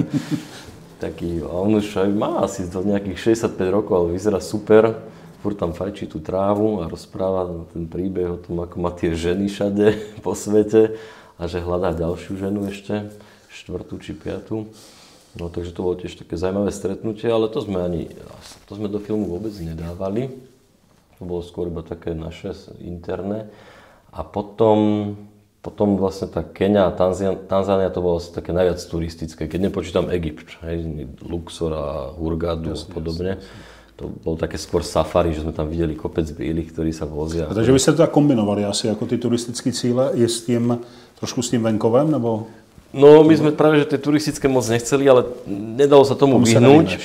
Taký, a on už aj má asi do nejakých 65 rokov, ale vyzerá super. Furt tam fajčí tú trávu a rozpráva ten príbeh o tom, ako má tie ženy všade po svete a že hľadá ďalšiu ženu ešte, 4. či 5. No takže to bolo tiež také zaujímavé stretnutie, ale to sme do filmu vôbec nedávali. To bolo skôr iba také naše interné. A potom vlastne tá Keňa a Tanzánia to bolo asi také najviac turistické, keď nepočítam Egypt, Luxor a Hurghadu a podobne. To bolo také skôr safari, že sme tam videli kopec bílých, ktorí sa vozia. A takže vy ste to tak kombinovali asi ako ty turistické cíle, je s tým, trošku s tým venkovem, nebo? No, my sme práve, že tie turistické moc nechceli, ale nedalo sa tomu vyhnúť.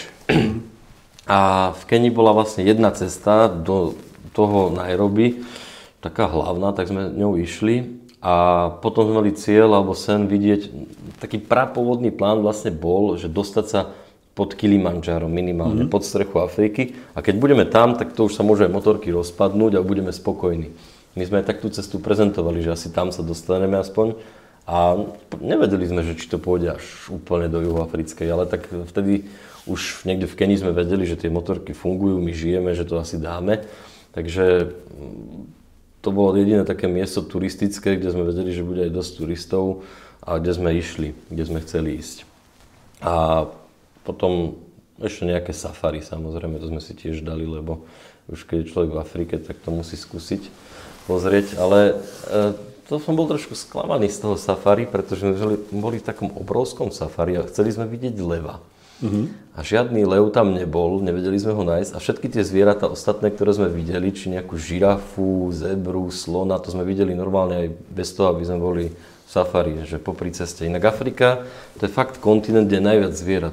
A v Kenii bola vlastne jedna cesta do toho Nairobi, taká hlavná, tak sme ňou išli. A potom sme mali cieľ alebo sen vidieť, taký prapôvodný plán vlastne bol, že dostať sa pod Kilimandžárom minimálne, pod strechu Afriky. A keď budeme tam, tak to už sa môže aj motorky rozpadnúť a budeme spokojní. My sme aj tak tú cestu prezentovali, že asi tam sa dostaneme aspoň. A nevedeli sme, že či to pôjde až úplne do juhoafrickej, ale tak vtedy už niekde v Kenii sme vedeli, že tie motorky fungujú, my žijeme, že to asi dáme. Takže to bolo jediné také miesto turistické, kde sme vedeli, že bude aj dosť turistov a kde sme išli, kde sme chceli ísť. A potom ešte nejaké safari, samozrejme, to sme si tiež dali, lebo už keď je človek v Afrike, tak to musí skúsiť pozrieť. Ale to som bol trošku sklamaný z toho safari, pretože sme boli v takom obrovskom safari a chceli sme vidieť leva. A žiadny lev tam nebol, nevedeli sme ho nájsť a všetky tie zvieratá ostatné, ktoré sme videli, či nejakú žirafu, zebru, slona, to sme videli normálne aj bez toho, aby sme boli v safari, že popri ceste. Inak Afrika, to je fakt kontinent, kde je najviac zvierat.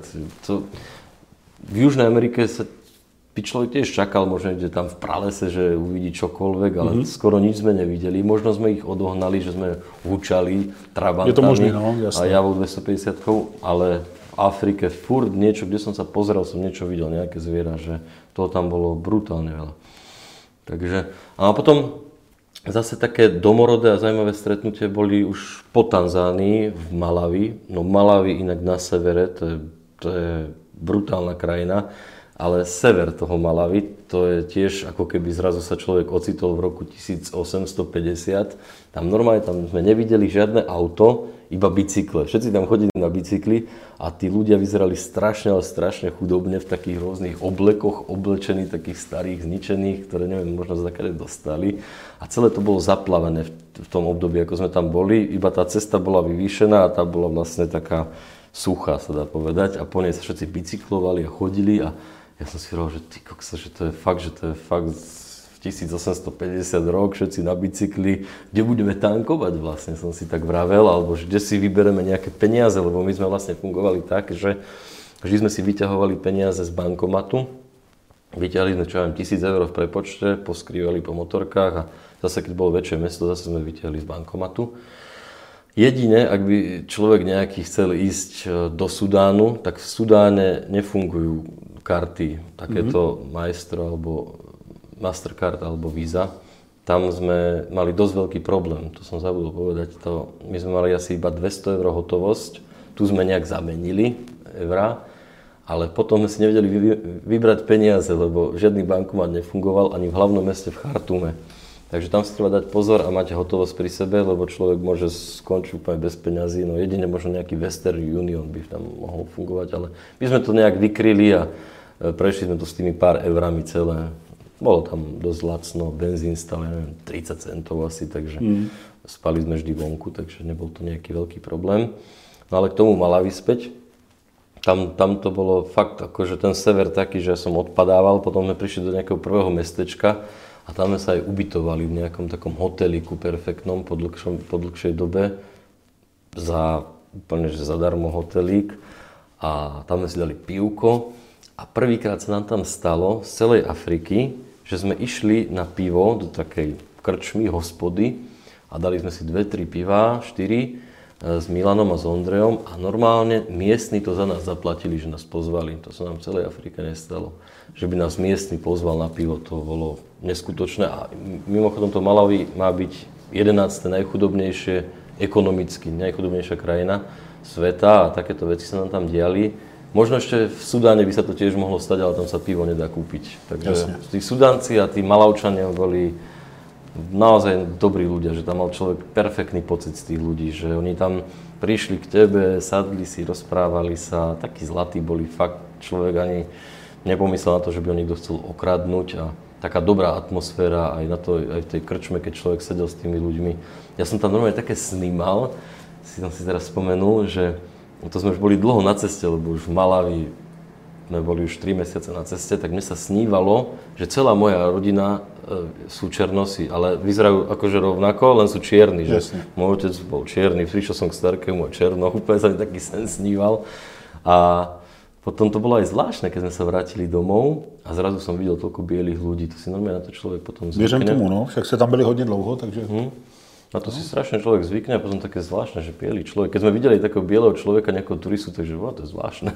V Južnej Amerike by človek tiež čakal, možno ide tam v pralese, že uvidí čokoľvek, ale skoro nič sme nevideli. Možno sme ich odohnali, že sme hučali trabantami. Je to možné, no, jasne. A javou 250, ale v Afrike furt niečo, kde som sa pozeral, som niečo videl, nejaké zviera, že toho tam bolo brutálne veľa. Takže, a potom zase také domorodé a zaujímavé stretnutie boli už po Tanzánii, v Malawi. No Malawi inak na severe, to je brutálna krajina, ale sever toho Malawi, to je tiež ako keby zrazu sa človek ocitol v roku 1850. Tam normálne sme nevideli žiadne auto, iba bicykle. Všetci tam chodili na bicykli a tí ľudia vyzerali strašne, ale strašne chudobne v takých rôznych oblekoch, oblečení, takých starých, zničených, ktoré neviem, možno zakade dostali. A celé to bolo zaplavené v tom období, ako sme tam boli. Iba tá cesta bola vyvýšená a tá bola vlastne taká suchá, sa dá povedať. A po nej sa všetci bicyklovali a chodili a ja som si hovoril, že ty koksa, že to je fakt v 1850 rok, všetci na bicykli, kde budeme tankovať vlastne, som si tak vravel, alebo že kde si vybereme nejaké peniaze, lebo my sme vlastne fungovali tak, že vždy sme si vyťahovali peniaze z bankomatu, vyťahli sme, čo ja viem, 1000 eur v prepočte, poskrývali po motorkách a zase, keď bolo väčšie mesto, zase sme vyťahli z bankomatu. Jedine, ak by človek nejaký chcel ísť do Sudánu, tak v Sudáne nefungujú karty, takéto Maestro alebo Mastercard alebo Visa. Tam sme mali dosť veľký problém, to som zabudol povedať. My sme mali asi iba 200 eur hotovosť, tu sme nejak zamenili eurá, ale potom sme si nevedeli vybrať peniaze, lebo žiadny bankomat nefungoval ani v hlavnom meste v Chartume. Takže tam si treba dať pozor a mať hotovosť pri sebe, lebo človek môže skončiť úplne bez peňazí. No jedine možno nejaký Western Union by tam mohol fungovať, ale my sme to nejak vykryli a prešli sme to s tými pár eurami celé. Bolo tam dosť lacno, benzín stal, neviem, 30 centov asi, takže spali sme vždy vonku, takže nebol to nejaký veľký problém. No ale k tomu Malawi späť, tam to bolo fakt akože ten sever taký, že ja som odpadával, potom sme prišli do nejakého prvého mestečka a tam sme sa aj ubytovali v nejakom takom hoteliku perfektnom po dlhšej dobe za úplne že zadarmo hotelík a tam sme si dali pivko a prvýkrát sa nám tam stalo z celej Afriky, že sme išli na pivo do takej krčmy, hospody a dali sme si 2-3 pivá, 4 s Milanom a s Ondrejom a normálne miestni to za nás zaplatili, že nás pozvali. To sa nám v celej Afrike nestalo. Že by nás miestny pozval na pivo, to bolo neskutočné a mimochodom to Malawi má byť 11. najchudobnejšie, ekonomicky najchudobnejšia krajina sveta a takéto veci sa nám tam diali. Možno ešte v Sudáne by sa to tiež mohlo stať, ale tam sa pivo nedá kúpiť. Takže tí Sudánci a tí Malavčania boli naozaj dobrí ľudia, že tam mal človek perfektný pocit z tých ľudí, že oni tam prišli k tebe, sadli si, rozprávali sa, takí zlatí boli, fakt človek ani nepomyslel na to, že by ho niekto chcel okradnúť a taká dobrá atmosféra aj v tej krčme, keď človek sedel s tými ľuďmi. Ja som tam normálne také snímal, som si teraz spomenul, že to sme už boli dlho na ceste, lebo už v Malawi sme boli už 3 mesiace na ceste, tak mne sa snívalo, že celá moja rodina sú černosi, ale vyzerajú akože rovnako, len sú čierni. Že môj otec bol čierny, prišiel som k starkému a černo, úplne sa mi taký sen sníval. A potom to bolo aj zvláštne, keď sme sa vrátili domov a zrazu som videl toľko bielých ľudí, to si normálne na to človek potom zvykne. Věřím tomu, no, však ste tam byli hodne dlouho, takže... Na to si strašne človek zvykne a potom také zvláštne, že bielý človek. Keď sme videli takého bieleho človeka, nejakého turistu, takže to je zvláštne.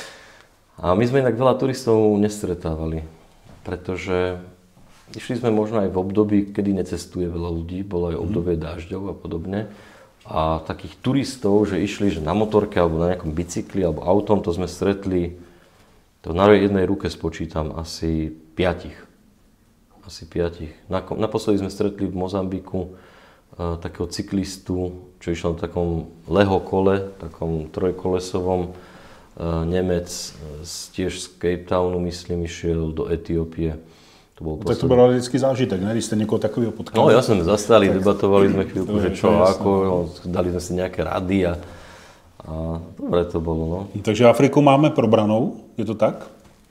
A my sme inak veľa turistov nestretávali, pretože išli sme možno aj v období, kedy necestuje veľa ľudí, bolo aj obdobie dážďov a podobne. A takých turistov, že išli že na motorke alebo na nejakom bicykli alebo autom, to sme stretli, to na jednej ruke spočítam, asi 5. Naposledy sme stretli v Mozambiku takého cyklistu, čo išiel na takom Lego kole, takom trojkolesovom, Nemec, tiež z Cape Townu, myslím, išiel do Etiópie. Tak to byl vždycky zážitek, ne? Když jste někoho takového potkali. No jasne, zastali, debatovali sme chvíľku, že čo, ako, no, dali sme si nejaké rady a dobre to bolo, no. Takže Afriku máme probranou, je to tak?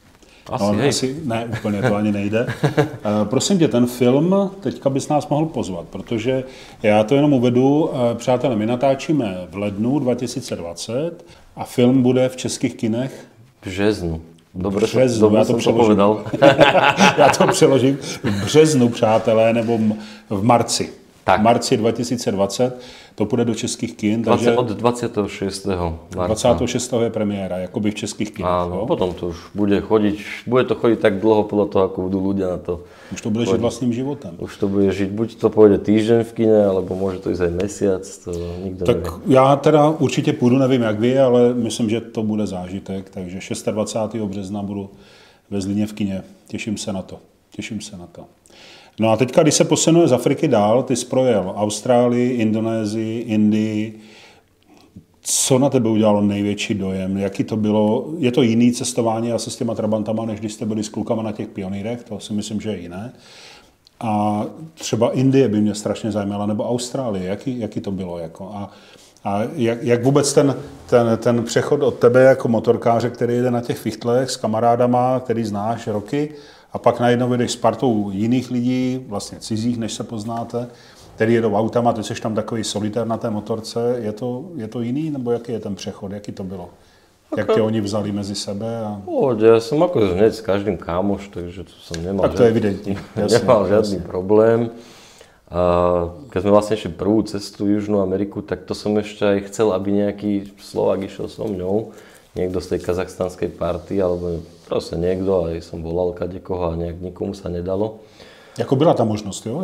Asi ne, úplně to ani nejde. Prosím tě, ten film, teďka bys nás mohl pozvat, protože já to jenom uvedu, přátelé, my natáčíme v lednu 2020 a film bude v českých kinech v březnu. Dobre, já to přeložím. Já to přeložím v březnu, přátelé, nebo v marci. Tak. V marci 2020 to půjde do českých kin. Takže od 26. marca. 26. je premiéra, jakoby v českých kinech. Áno, potom to už bude to chodiť tak dlho podľa toho, ako budú ľudia na to. Už to bude žiť vlastným životem. Už to bude žiť, buď to pôjde týždeň v kine, alebo môže to ísť aj mesiac, to nikto tak nevie. Já teda určitě půjdu, nevím jak vy, ale myslím, že to bude zážitek, takže 26. března budu ve Zlíně v kině. Těším se na to. No a teďka, když se posunuje z Afriky dál, ty jsi projel Austrálii, Indonésii, Indii. Co na tebe udělalo největší dojem? Jaký to bylo? Je to jiný cestování asi s těma trabantama, než když jste byli s klukama na těch pionýrech? To si myslím, že je jiné. A třeba Indie by mě strašně zajímala, nebo Austrálie. Jaký to bylo? Jako? A jak vůbec ten přechod od tebe jako motorkáře, který jde na těch fichtlech s kamarádama, který znáš roky, a pak najednou jdeš s partou jiných lidí, vlastně cizích, než se poznáte, který jedou autama, ty jsi tam takový solitér na té motorce. Je to jiný, nebo jaký je ten přechod, jaký to bylo? Jak tě oni vzali mezi sebe? Ja som ako hneď s každým kámoš, takže to som nemal, tak to je evidentní. Nemal žiadny problém. Keď sme vlastne išli prvú cestu Južnú Ameriku, tak to som ešte aj chcel, aby nejaký Slovák išiel so mňou. Niekto z tej kazachstanskej party, alebo proste niekto, aj som volal kadekoho a nejak nikomu sa nedalo. Jako byla ta možnost, jo?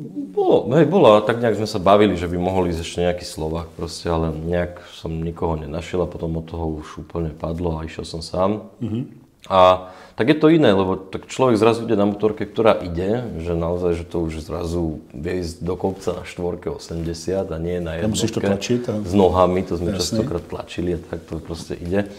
Bolo, a tak nejak sme sa bavili, že by mohol ísť ešte nejaký Slovák proste, ale nejak som nikoho nenašiel a potom od toho už úplne padlo a išiel som sám. Mm-hmm. A tak je to iné, lebo tak človek zrazu ide na motorke, ktorá ide, že naozaj, že to už zrazu vie ísť do kopca na 480 a nie na jednotke. Musíš to tlačiť. S nohami, to sme častokrát tlačili a tak to proste ide.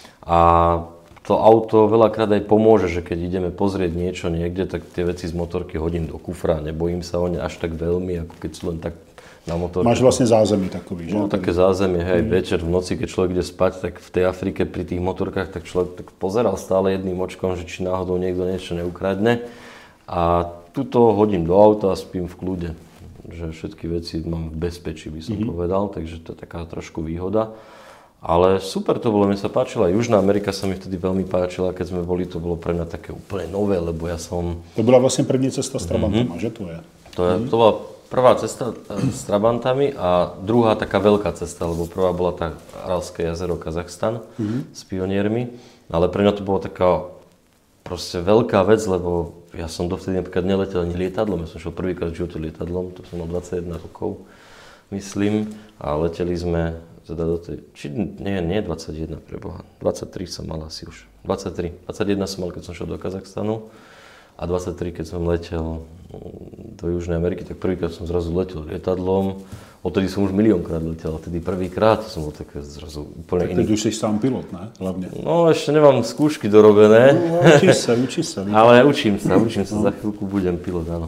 A to auto veľakrát aj pomôže, že keď ideme pozrieť niečo niekde, tak tie veci z motorky hodím do kufra, nebojím sa o ne až tak veľmi, ako keď sú len tak na motorke. Máš vlastne zázemí takový, že? No také zázemie, hej, večer, v noci, keď človek ide spať, tak v tej Afrike pri tých motorkách, tak človek tak pozeral stále jedným očkom, že či náhodou niekto niečo neukradne. A tuto hodím do auta a spím v kľude. Že všetky veci mám v bezpečí, by som povedal, takže to je taká trošku výhoda. Ale super to bolo, mne sa páčila. Južná Amerika sa mi vtedy veľmi páčila, keď sme boli, to bolo pre mňa také úplne nové, lebo ja som... To bola vlastne první cesta s Trabantama, že to je? To bola prvá cesta s Trabantami a druhá taká veľká cesta, lebo prvá bola tá Aralské jazero Kazachstan s pioniermi. Ale pre mňa to bola taká proste veľká vec, lebo ja som dovtedy napríklad neletel ani lietadlom. Ja som šiel prvýkrát v živote lietadlom, to som mal 21 rokov, myslím, a leteli sme teda do tej, nie 21, preboha, 23 som mal asi už, 21 som mal, keď som šiel do Kazachstanu a 23, keď som letel do Južnej Ameriky, tak prvýkrát som zrazu letel lietadlom, odtedy som už miliónkrát letel, a tedy prvýkrát som bol také zrazu úplne iný. Tak už si sám pilot, ne? Hlavne. No ešte nemám skúšky dorobené. No, učíš sa. Ale učím sa, za chvíľku budem pilot, áno.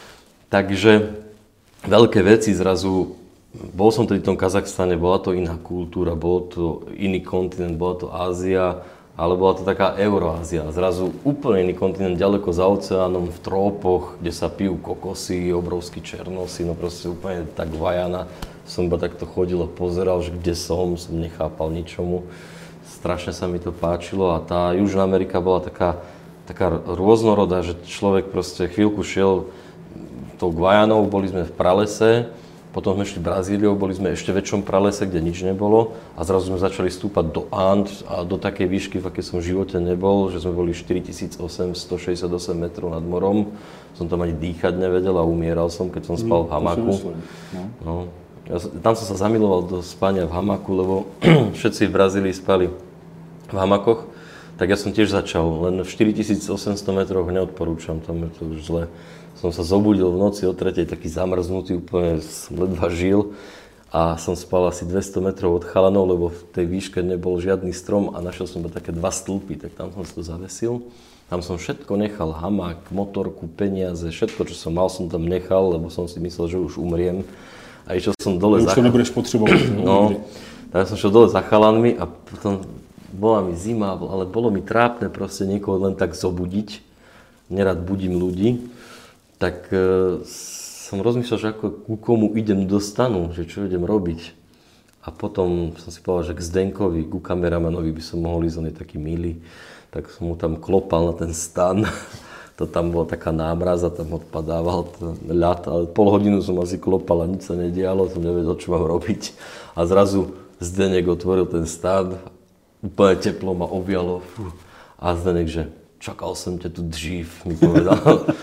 Takže veľké veci zrazu. Bol som tedy v tom Kazachstane, bola to iná kultúra, bol to iný kontinent, bola to Ázia, ale bola to taká Euroázia. Zrazu úplne iný kontinent, ďaleko za oceánom, v trópoch, kde sa pijú kokosy, obrovský černosy, no proste úplne tak Vajana. Som iba takto chodil a pozeral, že kde som nechápal ničomu. Strašne sa mi to páčilo a tá Južná Amerika bola taká rôznorodá, že človek proste chvíľku šiel tou Guajanou, boli sme v pralese. Potom sme šli Brazíliou, boli sme ešte väčšom pralese, kde nič nebolo a zrazu sme začali stúpať do And a do takej výšky, v akej som v živote nebol, že sme boli 4868 metrov nad morom. Som tam ani dýchať nevedel a umieral som, keď som spal v hamaku. No. Tam som sa zamiloval do spania v hamaku, lebo všetci v Brazílii spali v hamakoch, tak ja som tiež začal, len v 4800 metroch neodporúčam, tam je to už zle. Som sa zobudil v noci o 3:00, taký zamrznutý, úplne som ledva žil. A a som spal asi 200 metrov od chalanov, lebo v tej výške nebol žiadny strom a našiel som také 2 stĺpy, tak tam som si to zavesil. Tam som všetko nechal, hamák, motorku, peniaze, všetko, čo som mal, som tam nechal, lebo som si myslel, že už umriem. A išiel som dole už to nebudeš potrebovať. No, tak som šiel dole za chalanmi a potom bola mi zima, ale bolo mi trápne proste niekoho len tak zobudiť. Nerad budím ľudí. Tak som rozmýšľal, že ako ku komu idem do stanu, že čo idem robiť. A potom som si povedal, že k Zdenkovi, ku kameramanovi by som mohol ísť, on je taký milý. Tak som mu tam klopal na ten stan. To tam bola taká námraz a tam odpadával ten ľad. Ale pol hodinu som asi klopal a nič sa nedialo, som nevedel, čo mám robiť. A zrazu Zdenek otvoril ten stan, úplne teplo ma objalo. A Zdenek, že čakal som ťa tu dřív, mi povedal.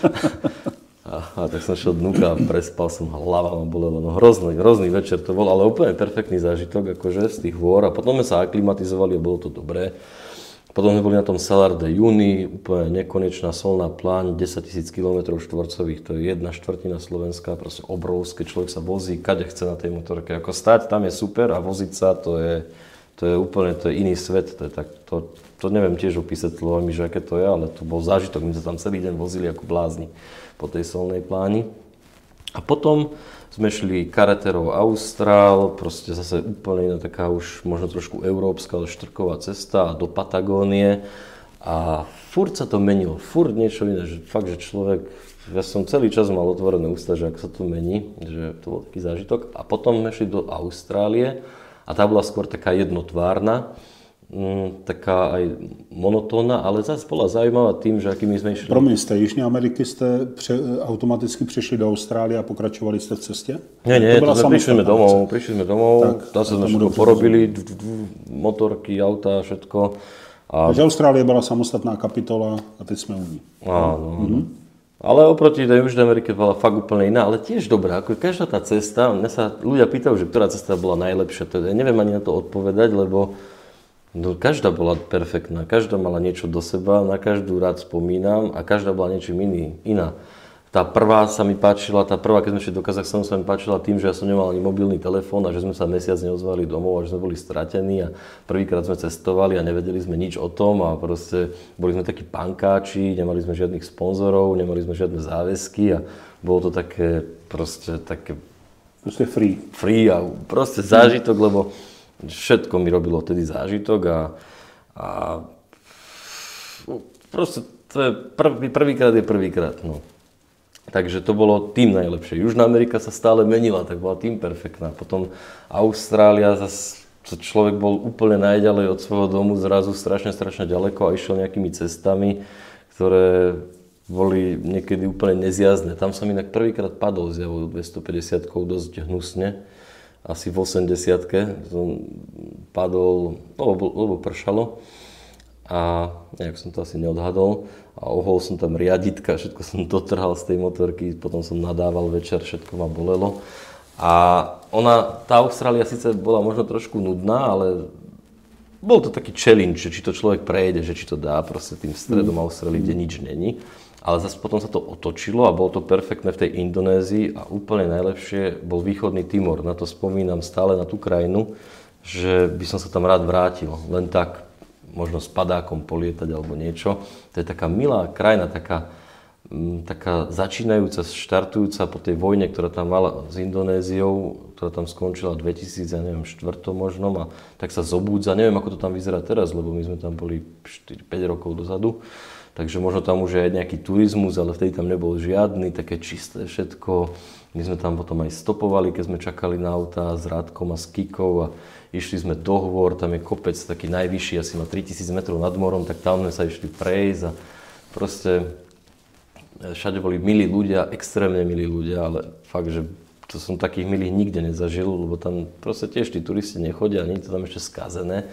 A tak som šiel dnuka a prespal som, hlava ma bolela. No hrozný večer to bol, ale úplne perfektný zážitok akože z tých hôr. A potom sme sa aklimatizovali a bolo to dobré. Potom sme boli na tom Salar de Uyuni, úplne nekonečná solná pláň, 10 000 km štvorcových, to je 1/4 Slovenska, proste obrovské, človek sa vozí, kade chce na tej motorke. Ako stáť tam je super a voziť sa, to je úplne, to je iný svet, to neviem tiež opísať slovami, že aké to je, ale to bol zážitok, my sa tam celý deň vozili ako blázni po tej solnej pláni. A potom sme šli Carreterou Austral, proste zase úplne iná taká už možno trošku európska, ale štrková cesta do Patagónie. A furt sa to menilo, furt niečo iné, že fakt, že človek, ja som celý čas mal otvorené ústa, že ak sa to mení, že to bol taký zážitok. A potom sme šli do Austrálie a tá bola skôr taká jednotvárna, taká aj monotónna, ale zase bola zaujímavá tým, že akými sme išli. Promiň, z té Jižní Ameriky jste automaticky přišli do Austrálie a pokračovali jste v cestě? Nie, to sme prišli sme domov, tam sme všetko porobili, motorky, auta, všetko. Takže Austrálie byla samostatná kapitola a teď jsme u ní. Áno. Ale oproti tej Južnej Amerike bola fakt úplne iná, ale tiež dobrá. Ako každá tá cesta, mňa sa ľudia pýtajú, že ktorá cesta bola najlepšia. Ja neviem ani na to odpovedať, lebo každá bola perfektná, každá mala niečo do seba, na každú rád spomínam a každá bola niečím iná. Tá prvá sa mi páčila, keď sme šli do Kazachstanu, sa mi páčila tým, že ja som nemal ani mobilný telefón a že sme sa mesiac neozvali domov a že sme boli stratení a prvýkrát sme cestovali a nevedeli sme nič o tom a proste boli sme takí pankáči, nemali sme žiadnych sponzorov, nemali sme žiadne záväzky a bolo to také proste free. Free a proste zážitok, lebo všetko mi robilo vtedy zážitok a proste to je prvýkrát je prvýkrát, no. Takže to bolo tým najlepšie. Južná Amerika sa stále menila, tak bola tým perfektná. Potom Austrália, zase človek bol úplne najďalej od svojho domu, zrazu strašne ďaleko a išiel nejakými cestami, ktoré boli niekedy úplne nezjazdné. Tam som inak prvýkrát padol s javou 250-kou dosť hnusne. Asi v 80-ke som padol, lebo pršalo a nejak som to asi neodhadol a ohol som tam riaditka, všetko som dotrhal z tej motorky, potom som nadával večer, všetko ma bolelo. A tá Austrália síce bola možno trošku nudná, ale bol to taký challenge, že či to človek prejde, že či to dá proste tým stredom Austrálie, kde nič není. Ale zase potom sa to otočilo a bolo to perfektné v tej Indonézii a úplne najlepšie bol východný Timor. Na to spomínam stále, na tú krajinu, že by som sa tam rád vrátil. Len tak, možno s padákom polietať alebo niečo. To je taká milá krajina, taká začínajúca, štartujúca po tej vojne, ktorá tam mala s Indonéziou, ktorá tam skončila v 2004 možno a tak sa zobúdza. Neviem, ako to tam vyzerá teraz, lebo my sme tam boli 4-5 rokov dozadu. Takže možno tam už je aj nejaký turizmus, ale vtedy tam nebol žiadny, také čisté všetko. My sme tam potom aj stopovali, keď sme čakali na auta s Rádkom a s Kikou a išli sme do hôr, tam je kopec taký najvyšší, asi na 3000 metrov nad morom, tak tam sme sa išli prejsť a proste všade boli milí ľudia, extrémne milí ľudia, ale fakt, že to som takých milých nikde nezažil, lebo tam proste tiež tí turisti nechodia, nie je to tam ešte skazené.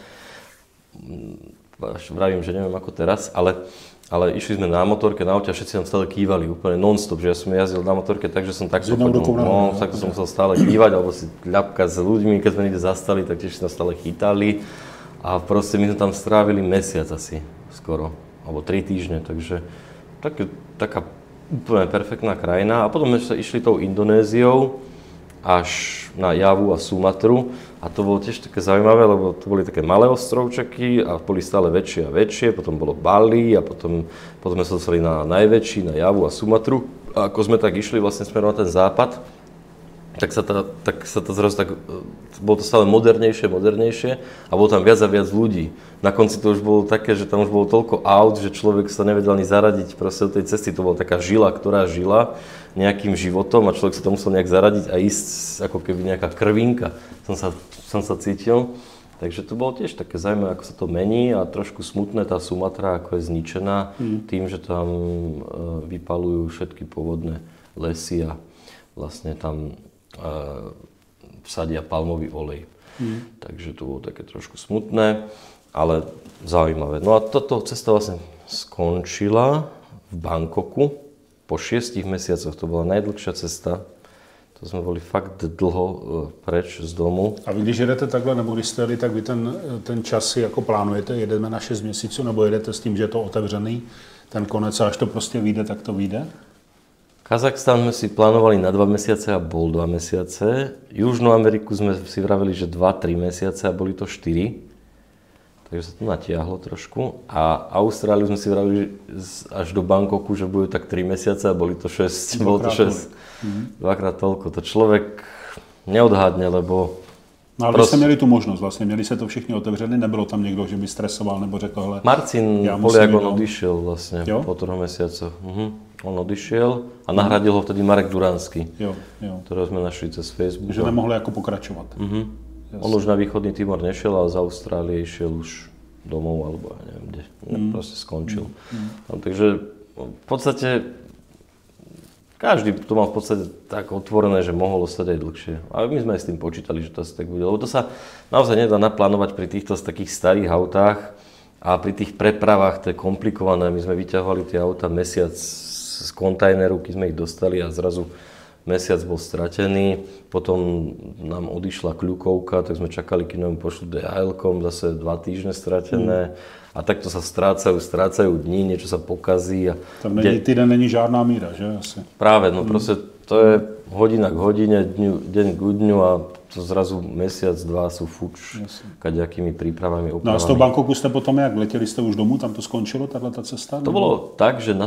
Vravím, že neviem ako teraz, ale išli sme na motorke, na aute a všetci nám stále kývali úplne non-stop, že ja som jazdil na motorke tak, že som takto tak som musel stále kývať, alebo si ľapkať s ľuďmi, keď sme niekde zastali, tak tiež sa stále chytali a proste my sme tam strávili mesiac asi skoro, alebo 3 týždne, takže taká úplne perfektná krajina a potom sme sa išli tou Indonéziou až na Javu a Sumatru. A to bolo tiež také zaujímavé, lebo to boli také malé ostrovčeky a boli stále väčšie a väčšie. Potom bolo Bali a potom sme sa dostali na najväčší, na Javu a Sumatru. A ako sme tak išli vlastne smerom na ten západ, tak sa to zrazu tak, bolo to stále modernejšie a bolo tam viac a viac ľudí. Na konci to už bolo také, že tam už bolo toľko aut, že človek sa nevedel ani zaradiť proste do tej cesty. To bola taká žila, ktorá žila nejakým životom a človek sa to musel nejak zaradiť a ísť ako keby nejaká krvinka. Som sa cítil. Takže to bolo tiež také zaujímavé, ako sa to mení a trošku smutné tá Sumatra, ako je zničená tým, že tam vypalujú všetky pôvodné lesy a vlastne tam vsadia palmový olej. Takže to bolo také trošku smutné, ale zaujímavé. No a toto cesta vlastne skončila v Bangkoku po 6 mesiacoch. To bola najdlhšia cesta. To jsme byli fakt dlho preč z domu. A vy když jedete takhle, nebo když jste jeli, tak vy ten čas si jako plánujete, jedeme na 6 měsíců, nebo jedete s tím, že je to otevřený, ten konec a až to prostě vyjde, tak to vyjde? Kazachstan sme si plánovali na 2 mesiace a bol 2 mesiace. Južnú Ameriku sme si vraveli, že 2-3 mesiace a boli to 4. Takže sa to natiahlo trošku. A Austráliu sme si vraveli až do Bangkoku, že budú tak 3 mesiace a boli to 6. Bolo to 6. Dvakrát toľko. To človek neodhadne, lebo... No ale vy jste měli tu možnost vlastně, měli se to všichni otevřený, nebylo tam někdo, že by stresoval nebo řekl, hele... Marcin Poliak, on odišiel vlastne po 3 mesiacoch. On odišiel a nahradil ho vtedy Marek Duranský, ktorého sme našli cez Facebook. Že nemohli jako pokračovat. On už na východný Timor nešiel, ale z Austrálie išiel už domov, alebo ja neviem kde. Proste skončil. Takže v podstate každý to mal v podstate tak otvorené, že mohol ostať aj dlhšie. A my sme aj s tým počítali, že to asi tak bude. Lebo to sa naozaj nedá naplánovať pri týchto takých starých autách a pri tých prepravách to je komplikované. My sme vyťahovali tie auta mesiac z kontajneru, keď sme ich dostali a zrazu mesiac bol stratený. Potom nám odišla kľukovka, tak sme čakali, keď nám pošlu DHL-kom, zase 2 týždne stratené. A takto sa strácajú dní, niečo sa pokazí. A tam týden není žádná míra, že asi? Práve, no proste to je hodina k hodine, deň k dňu a to zrazu mesiac, 2 sú fuč kaďakými prípravami, opravami. No a z toho Bangkoku ste potom jak? Letěli ste už domů, tam to skončilo, tato cesta? To bolo tak, že na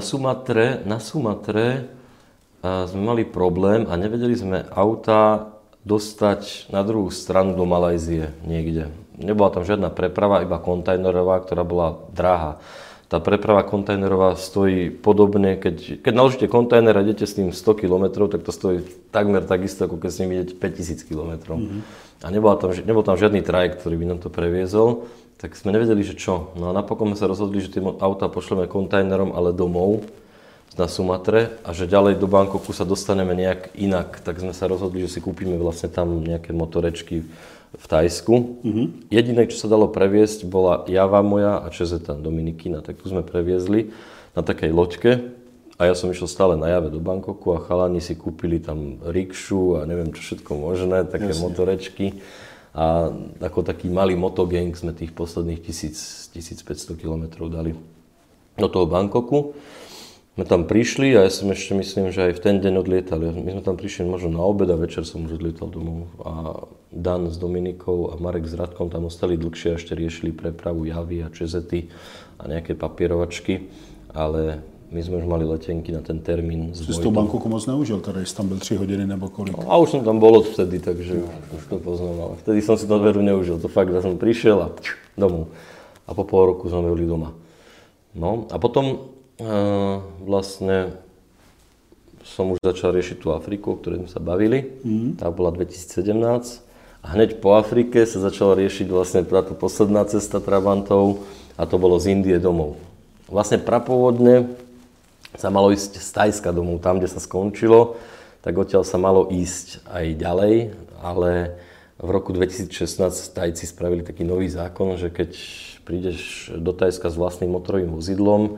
Sumatre sme mali problém a nevedeli sme auta dostať na druhú stranu do Malajzie niekde. Nebola tam žiadna preprava, iba kontajnerová, ktorá bola drahá. Tá preprava kontajnerová stojí podobne, keď naložíte kontajner a idete s ním 100 km, tak to stojí takmer takisto, ako keď s ním idete 5000 km. A nebol tam žiadny trajekt, ktorý by nám to previezol, tak sme nevedeli, že čo. No a napokon sme sa rozhodli, že tie auta pošleme kontajnerom, ale domov na Sumatre a že ďalej do Bangkoku sa dostaneme nejak inak. Tak sme sa rozhodli, že si kúpime vlastne tam nejaké motorečky v Thajsku. Jediné, čo sa dalo previesť, bola Java moja a Čezeta Dominikina. Tak tu sme previezli na takej loďke a ja som išiel stále na Jave do Bangkoku a chalani si kúpili tam rikšu a neviem čo všetko možné, také motorečky. A ako taký malý motogang sme tých posledných 1500 km dali do toho Bangkoku. My tam prišli a ja som ešte myslím, že aj v ten deň odlietali. My sme tam prišli možno na obed a večer som už odlietal domov. A Dan s Dominikou a Marek s Radkom tam ostali dlhšie a ešte riešili prepravu Javy a Čezety a nejaké papierovačky. Ale my sme už mali letenky na ten termín. Jsi z toho Bangkoku moc neužil, teda jsi tam byl 3 hodiny nebo kolik? No, a už som tam bol odvtedy, takže už to poznám. Ale vtedy som si to veru neužil. To fakt, že som prišiel a domov. A po pol roku sme boli doma. No a potom vlastne som už začal riešiť tú Afriku, o ktorej sme sa bavili. Tá bola 2017 a hneď po Afrike sa začala riešiť vlastne táto posledná cesta Trabantov a to bolo z Indie domov. Vlastne prapôvodne sa malo ísť z Thajska domov, tam, kde sa skončilo, tak odtiaľ sa malo ísť aj ďalej, ale v roku 2016 Thajci spravili taký nový zákon, že keď prídeš do Thajska s vlastným motorovým vozidlom,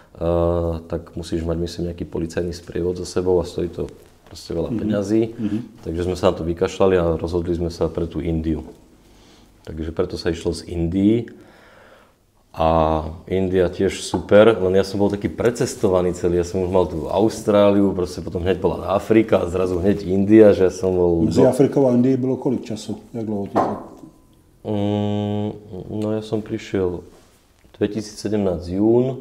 tak musíš mať, myslím, nejaký policajný sprievod so sebou a stojí to proste veľa peňazí. Takže sme sa na to vykašľali a rozhodli sme sa pre tú Indiu. Takže preto sa išlo z Indii. A India tiež super, len ja som bol taký precestovaný celý, ja som už mal tú Austráliu, proste potom hneď bola Afrika a zrazu hneď India, že ja som bol... Mezi Afrikou a Indií bylo kolik času? Jak dlouho ti to? No ja som prišiel 2017 jún,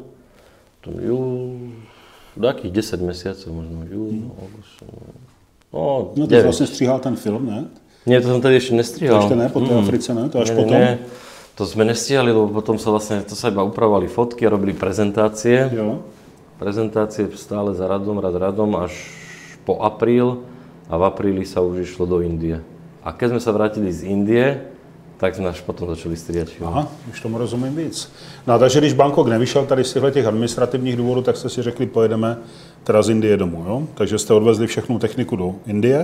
takých 10 mesiacov možno, jún, august, no ty jsi vlastně stříhal ten film, ne? Nie, to som tady ešte nestrihal. To ešte ne, po tej Africe, ne? To až potom? Nie. To sme nestihali, lebo potom sa vlastne, to sa iba upravovali fotky a robili prezentácie. Jo. Prezentácie stále za radom až po apríl a v apríli sa už išlo do Indie. A keď sme sa vrátili z Indie, tak jsme až potom začali stříhat film. Aha, už tomu rozumím víc. No a takže když Bangkok nevyšel tady z těch administrativních důvodů, tak jste si řekli, pojedeme teda z Indie domů, jo? Takže jste odvezli všechnu techniku do Indie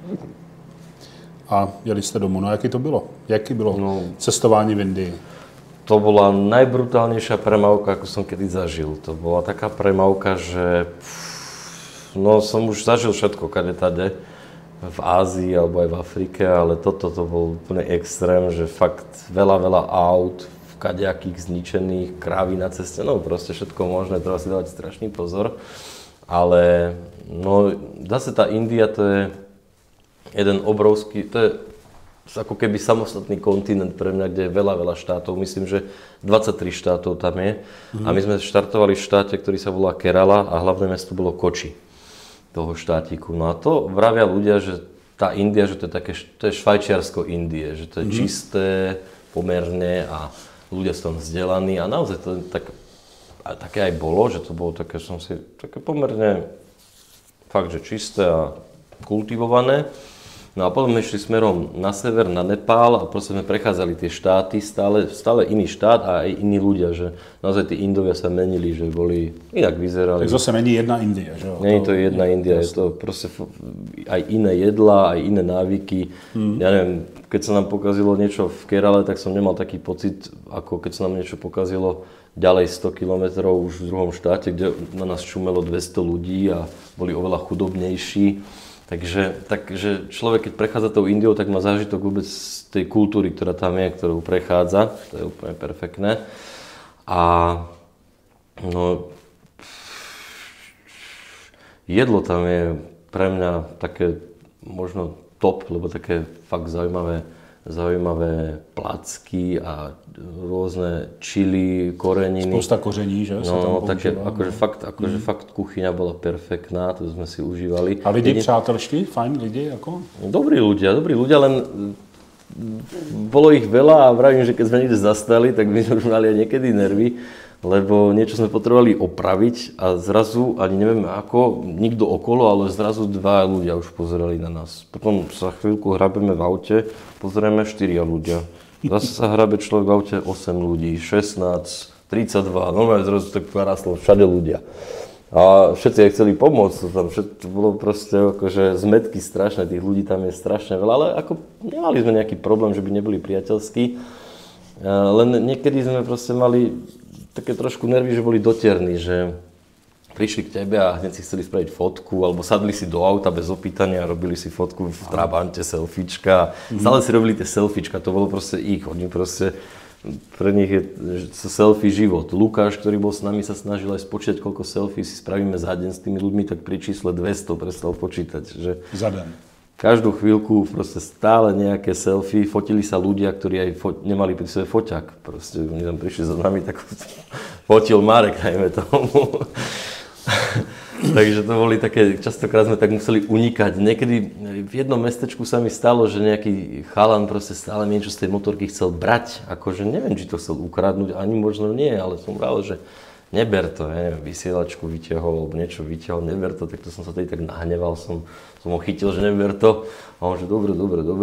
a jeli jste domů. No jaký to bylo? Jaký bylo cestování v Indii? To bola najbrutálnejšia premávka, ako som kedy zažil. To bola taká premávka, že som už zažil všetko, kade tade. V Ázii alebo aj v Afrike, ale toto to bol úplne extrém, že fakt veľa aut, kadejakých zničených, krávy na ceste, no proste všetko možné, treba si dávať strašný pozor. Ale zase tá India to je jeden obrovský, to je ako keby samostatný kontinent pre mňa, kde je veľa štátov, myslím, že 23 štátov tam je. A my sme štartovali v štáte, ktorý sa volá Kerala a hlavné mesto bolo Koči toho štátiku. No a to vravia ľudia, že tá India, že to je Švajčiarsko Indie, že to je čisté pomerne a ľudia sú tam vzdelaní a naozaj to také aj bolo, že to bolo také pomerne fakt, že čisté a kultivované. No a potom sme išli smerom na sever, na Nepál a proste sme prechádzali tie štáty, stále iný štát a aj iní ľudia, že naozaj tí Indovia sa menili, že boli, inak vyzerali. Tak zase není jedna India, že jo? Nie je to jedna India, je to proste aj iné jedlá, aj iné návyky. Ja neviem, keď sa nám pokazilo niečo v Kerale, tak som nemal taký pocit, ako keď sa nám niečo pokazilo ďalej 100 kilometrov už v druhom štáte, kde na nás čumelo 200 ľudí a boli oveľa chudobnejší. Takže človek, keď prechádza tou Indiou, tak má zážitok vôbec z tej kultúry, ktorá tam je, ktorú prechádza. To je úplne perfektné. A jedlo tam je pre mňa také možno top, lebo také fakt zaujímavé placky a rôzne čili, koreniny. Spousta koření, že? No, také, akože fakt kuchyňa bola perfektná, to sme si užívali. A lidi přátelští? Fajn lidi? Ako? Dobrí ľudia, len bolo ich veľa a vravím, že keď sme niekde zastali, tak my sme už mali aj niekedy nervy, lebo niečo sme potrebovali opraviť a zrazu, ani neviem ako, nikto okolo, ale zrazu 2 ľudia už pozerali na nás. Potom sa chvíľku hrabeme v aute, pozrieme 4 ľudia. Zase sa hrabe človek v aute 8 ľudí, 16, 32, normálne zrazu tak narastlo všade ľudia. A všetci aj chceli pomôcť, to bolo proste akože zmetky strašné, tých ľudí tam je strašne veľa, ale ako nemali sme nejaký problém, že by neboli priateľskí, len niekedy sme proste mali také trošku nervy, že boli dotierní, že prišli k tebe a hneď si chceli spraviť fotku, alebo sadli si do auta bez opýtania a robili si fotku v Trabante, selfiečka. Stále si robili tie selfiečka, to bolo proste ich. Oni proste, pre nich je selfie život. Lukáš, ktorý bol s nami, sa snažil aj spočítať, koľko selfie si spravíme za deň s tými ľuďmi, tak pri čísle 200 prestal počítať. Že za deň. Každú chvíľku proste stále nejaké selfie, fotili sa ľudia, ktorí aj nemali pri sebe foťák. Proste oni tam prišli za nami, tak fotil Marek, najmä tomu. Takže to boli také, častokrát sme tak museli unikať. Niekedy v jednom mestečku sa mi stalo, že nejaký chalan proste stále niečo z tej motorky chcel brať. Akože neviem, či to chcel ukradnúť, ani možno nie, ale som vral, že neber to, ja neviem, vysielačku vyťahol, alebo niečo vyťahol, neber to, tak to som sa tedy tak nahneval, som ho chytil, že neber to. A on, že dobre.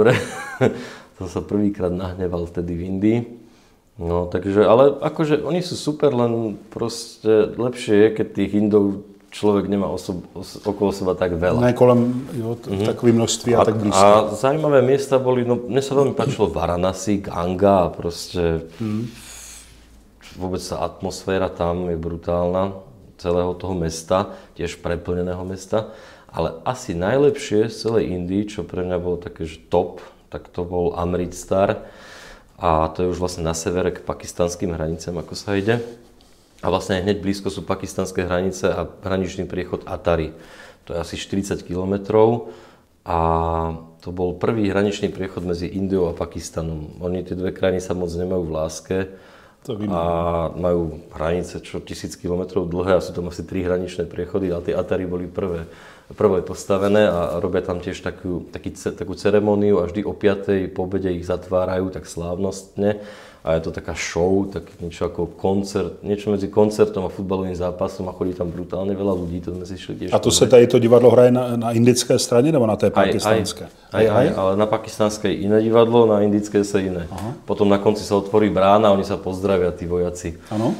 Som sa prvýkrát nahneval vtedy v Indii. No, takže, ale akože oni sú super, len proste lepšie je, keď tých Indov človek nemá okolo seba tak veľa. Ne kolem, jo, takové množství a tak blízko. A zaujímavé miesta boli, no mne sa veľmi páčilo Varanasi, Ganga a proste vôbec tá atmosféra tam je brutálna, celého toho mesta, tiež preplneného mesta. Ale asi najlepšie z celej Indii, čo pre mňa bolo také, že top, tak to bol Amritsar. a to je už vlastne na severe k pakistanským hranicám, ako sa ide. A vlastne hneď blízko sú pakistanské hranice a hraničný priechod Atari. To je asi 40 kilometrov a to bol prvý hraničný priechod medzi Indiou a Pakistanom. Oni tie dve krajiny sa moc nemajú v láske a majú hranice čo 1000 kilometrov dlhé a sú tam asi 3 hraničné priechody, ale tie Atari boli prvé postavené a robia tam tiež takú ceremóniu a vždy o 5. po obede ich zatvárajú tak slávnostne. A je to taká show, tak niečo ako koncert, niečo medzi koncertom a futbalovým zápasom a chodí tam brutálne veľa ľudí, to sme si šli tiež. A to se tady to divadlo hraje na indické straně nebo na té pakistanské? Aj, ale na pakistanskej iné divadlo, na indické sa iné. Aha. Potom na konci sa otvorí brána a oni sa pozdravia, tí vojaci. Áno?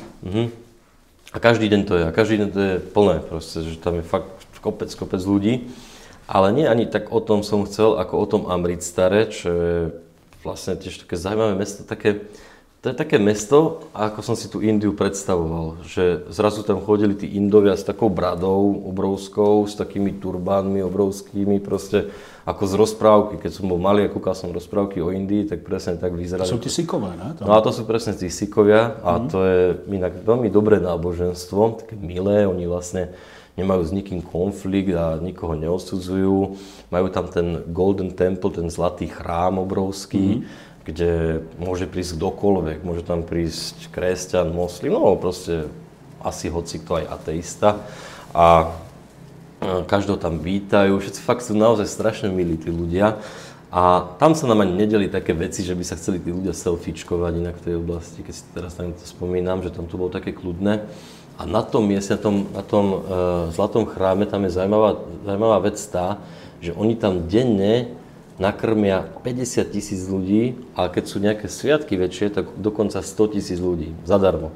A každý deň to je plné proste, že tam je fakt kopec ľudí. Ale nie ani tak o tom som chcel, ako o tom Amritsare, čo je vlastne tiež také zaujímavé mesto, to je také mesto, ako som si tú Indiu predstavoval, že zrazu tam chodili tí Indovia s takou bradou obrovskou, s takými turbánmi obrovskými, proste ako z rozprávky. Keď som bol malý a kúkal som rozprávky o Indii, tak presne tak vyzerali. To sú tí Sikové, ne? No a to sú presne tí Sikovia a to je inak veľmi dobré náboženstvo, také milé, oni vlastne nemajú s nikým konflikt a nikoho neodsudzujú. Majú tam ten Golden Temple, ten zlatý chrám obrovský, kde môže prísť kdokoľvek. Môže tam prísť kresťan, moslim, no proste asi hocikto aj ateista. A každého tam vítajú. Všetci fakt sú naozaj strašne milí tí ľudia. A tam sa nám ani nedeli také veci, že by sa chceli tí ľudia selfiečkovať inak v tej oblasti. Keď si teraz tam to spomínam, že tam to bolo také kľudné. A na tom mieste, na tom zlatom chráme, tam je zaujímavá vec tá, že oni tam denne nakrmia 50 000 ľudí, ale keď sú nejaké sviatky väčšie, tak dokonca 100 000 ľudí, zadarmo.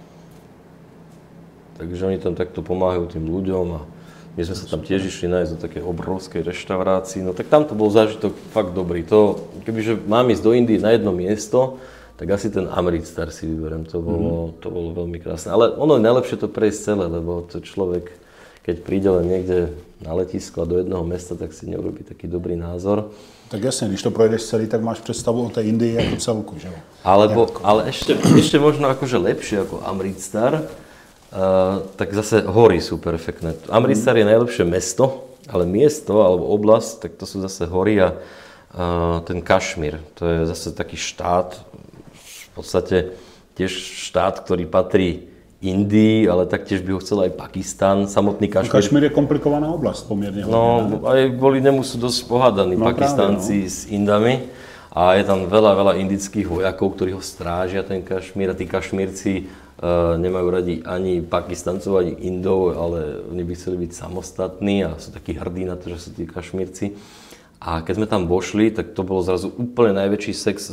Takže oni tam takto pomáhajú tým ľuďom a my sme sa tam tiež išli nájsť do také obrovskej reštaurácii, no tak tam to bol zážitok fakt dobrý. To, kebyže mám ísť do Indie na jedno miesto, tak asi ten Amritsar si vyberiem, to bolo veľmi krásne. Ale ono je najlepšie to prejsť celé, lebo to človek, keď príde len niekde na letisko a do jednoho mesta, tak si neurobí taký dobrý názor. Tak jasne, když to projdeš celý, tak máš predstavu o tej Indii ako celku, že jo? Ale ešte možno akože lepšie ako Amritsar, tak zase hory sú perfektné. Amritsar je najlepšie mesto, ale miesto alebo oblasť, tak to sú zase hory a ten Kašmír, to je zase taký štát, v podstate tiež štát, ktorý patrí Indii, ale taktiež by ho chcel aj Pakistan, samotný Kašmír. Kašmír je komplikovaná oblasť pomerne. No, aj kvôli nemu sú dosť pohádaní Pakistanci s Indami a je tam veľa indických vojakov, ktorí ho strážia, ten Kašmír, a tí Kašmírci nemajú radi ani Pakistancov, ani Indov, ale oni by chceli byť samostatní a sú takí hrdí na to, že sú tí Kašmírci. A keď sme tam vošli, tak to bolo zrazu úplne najväčší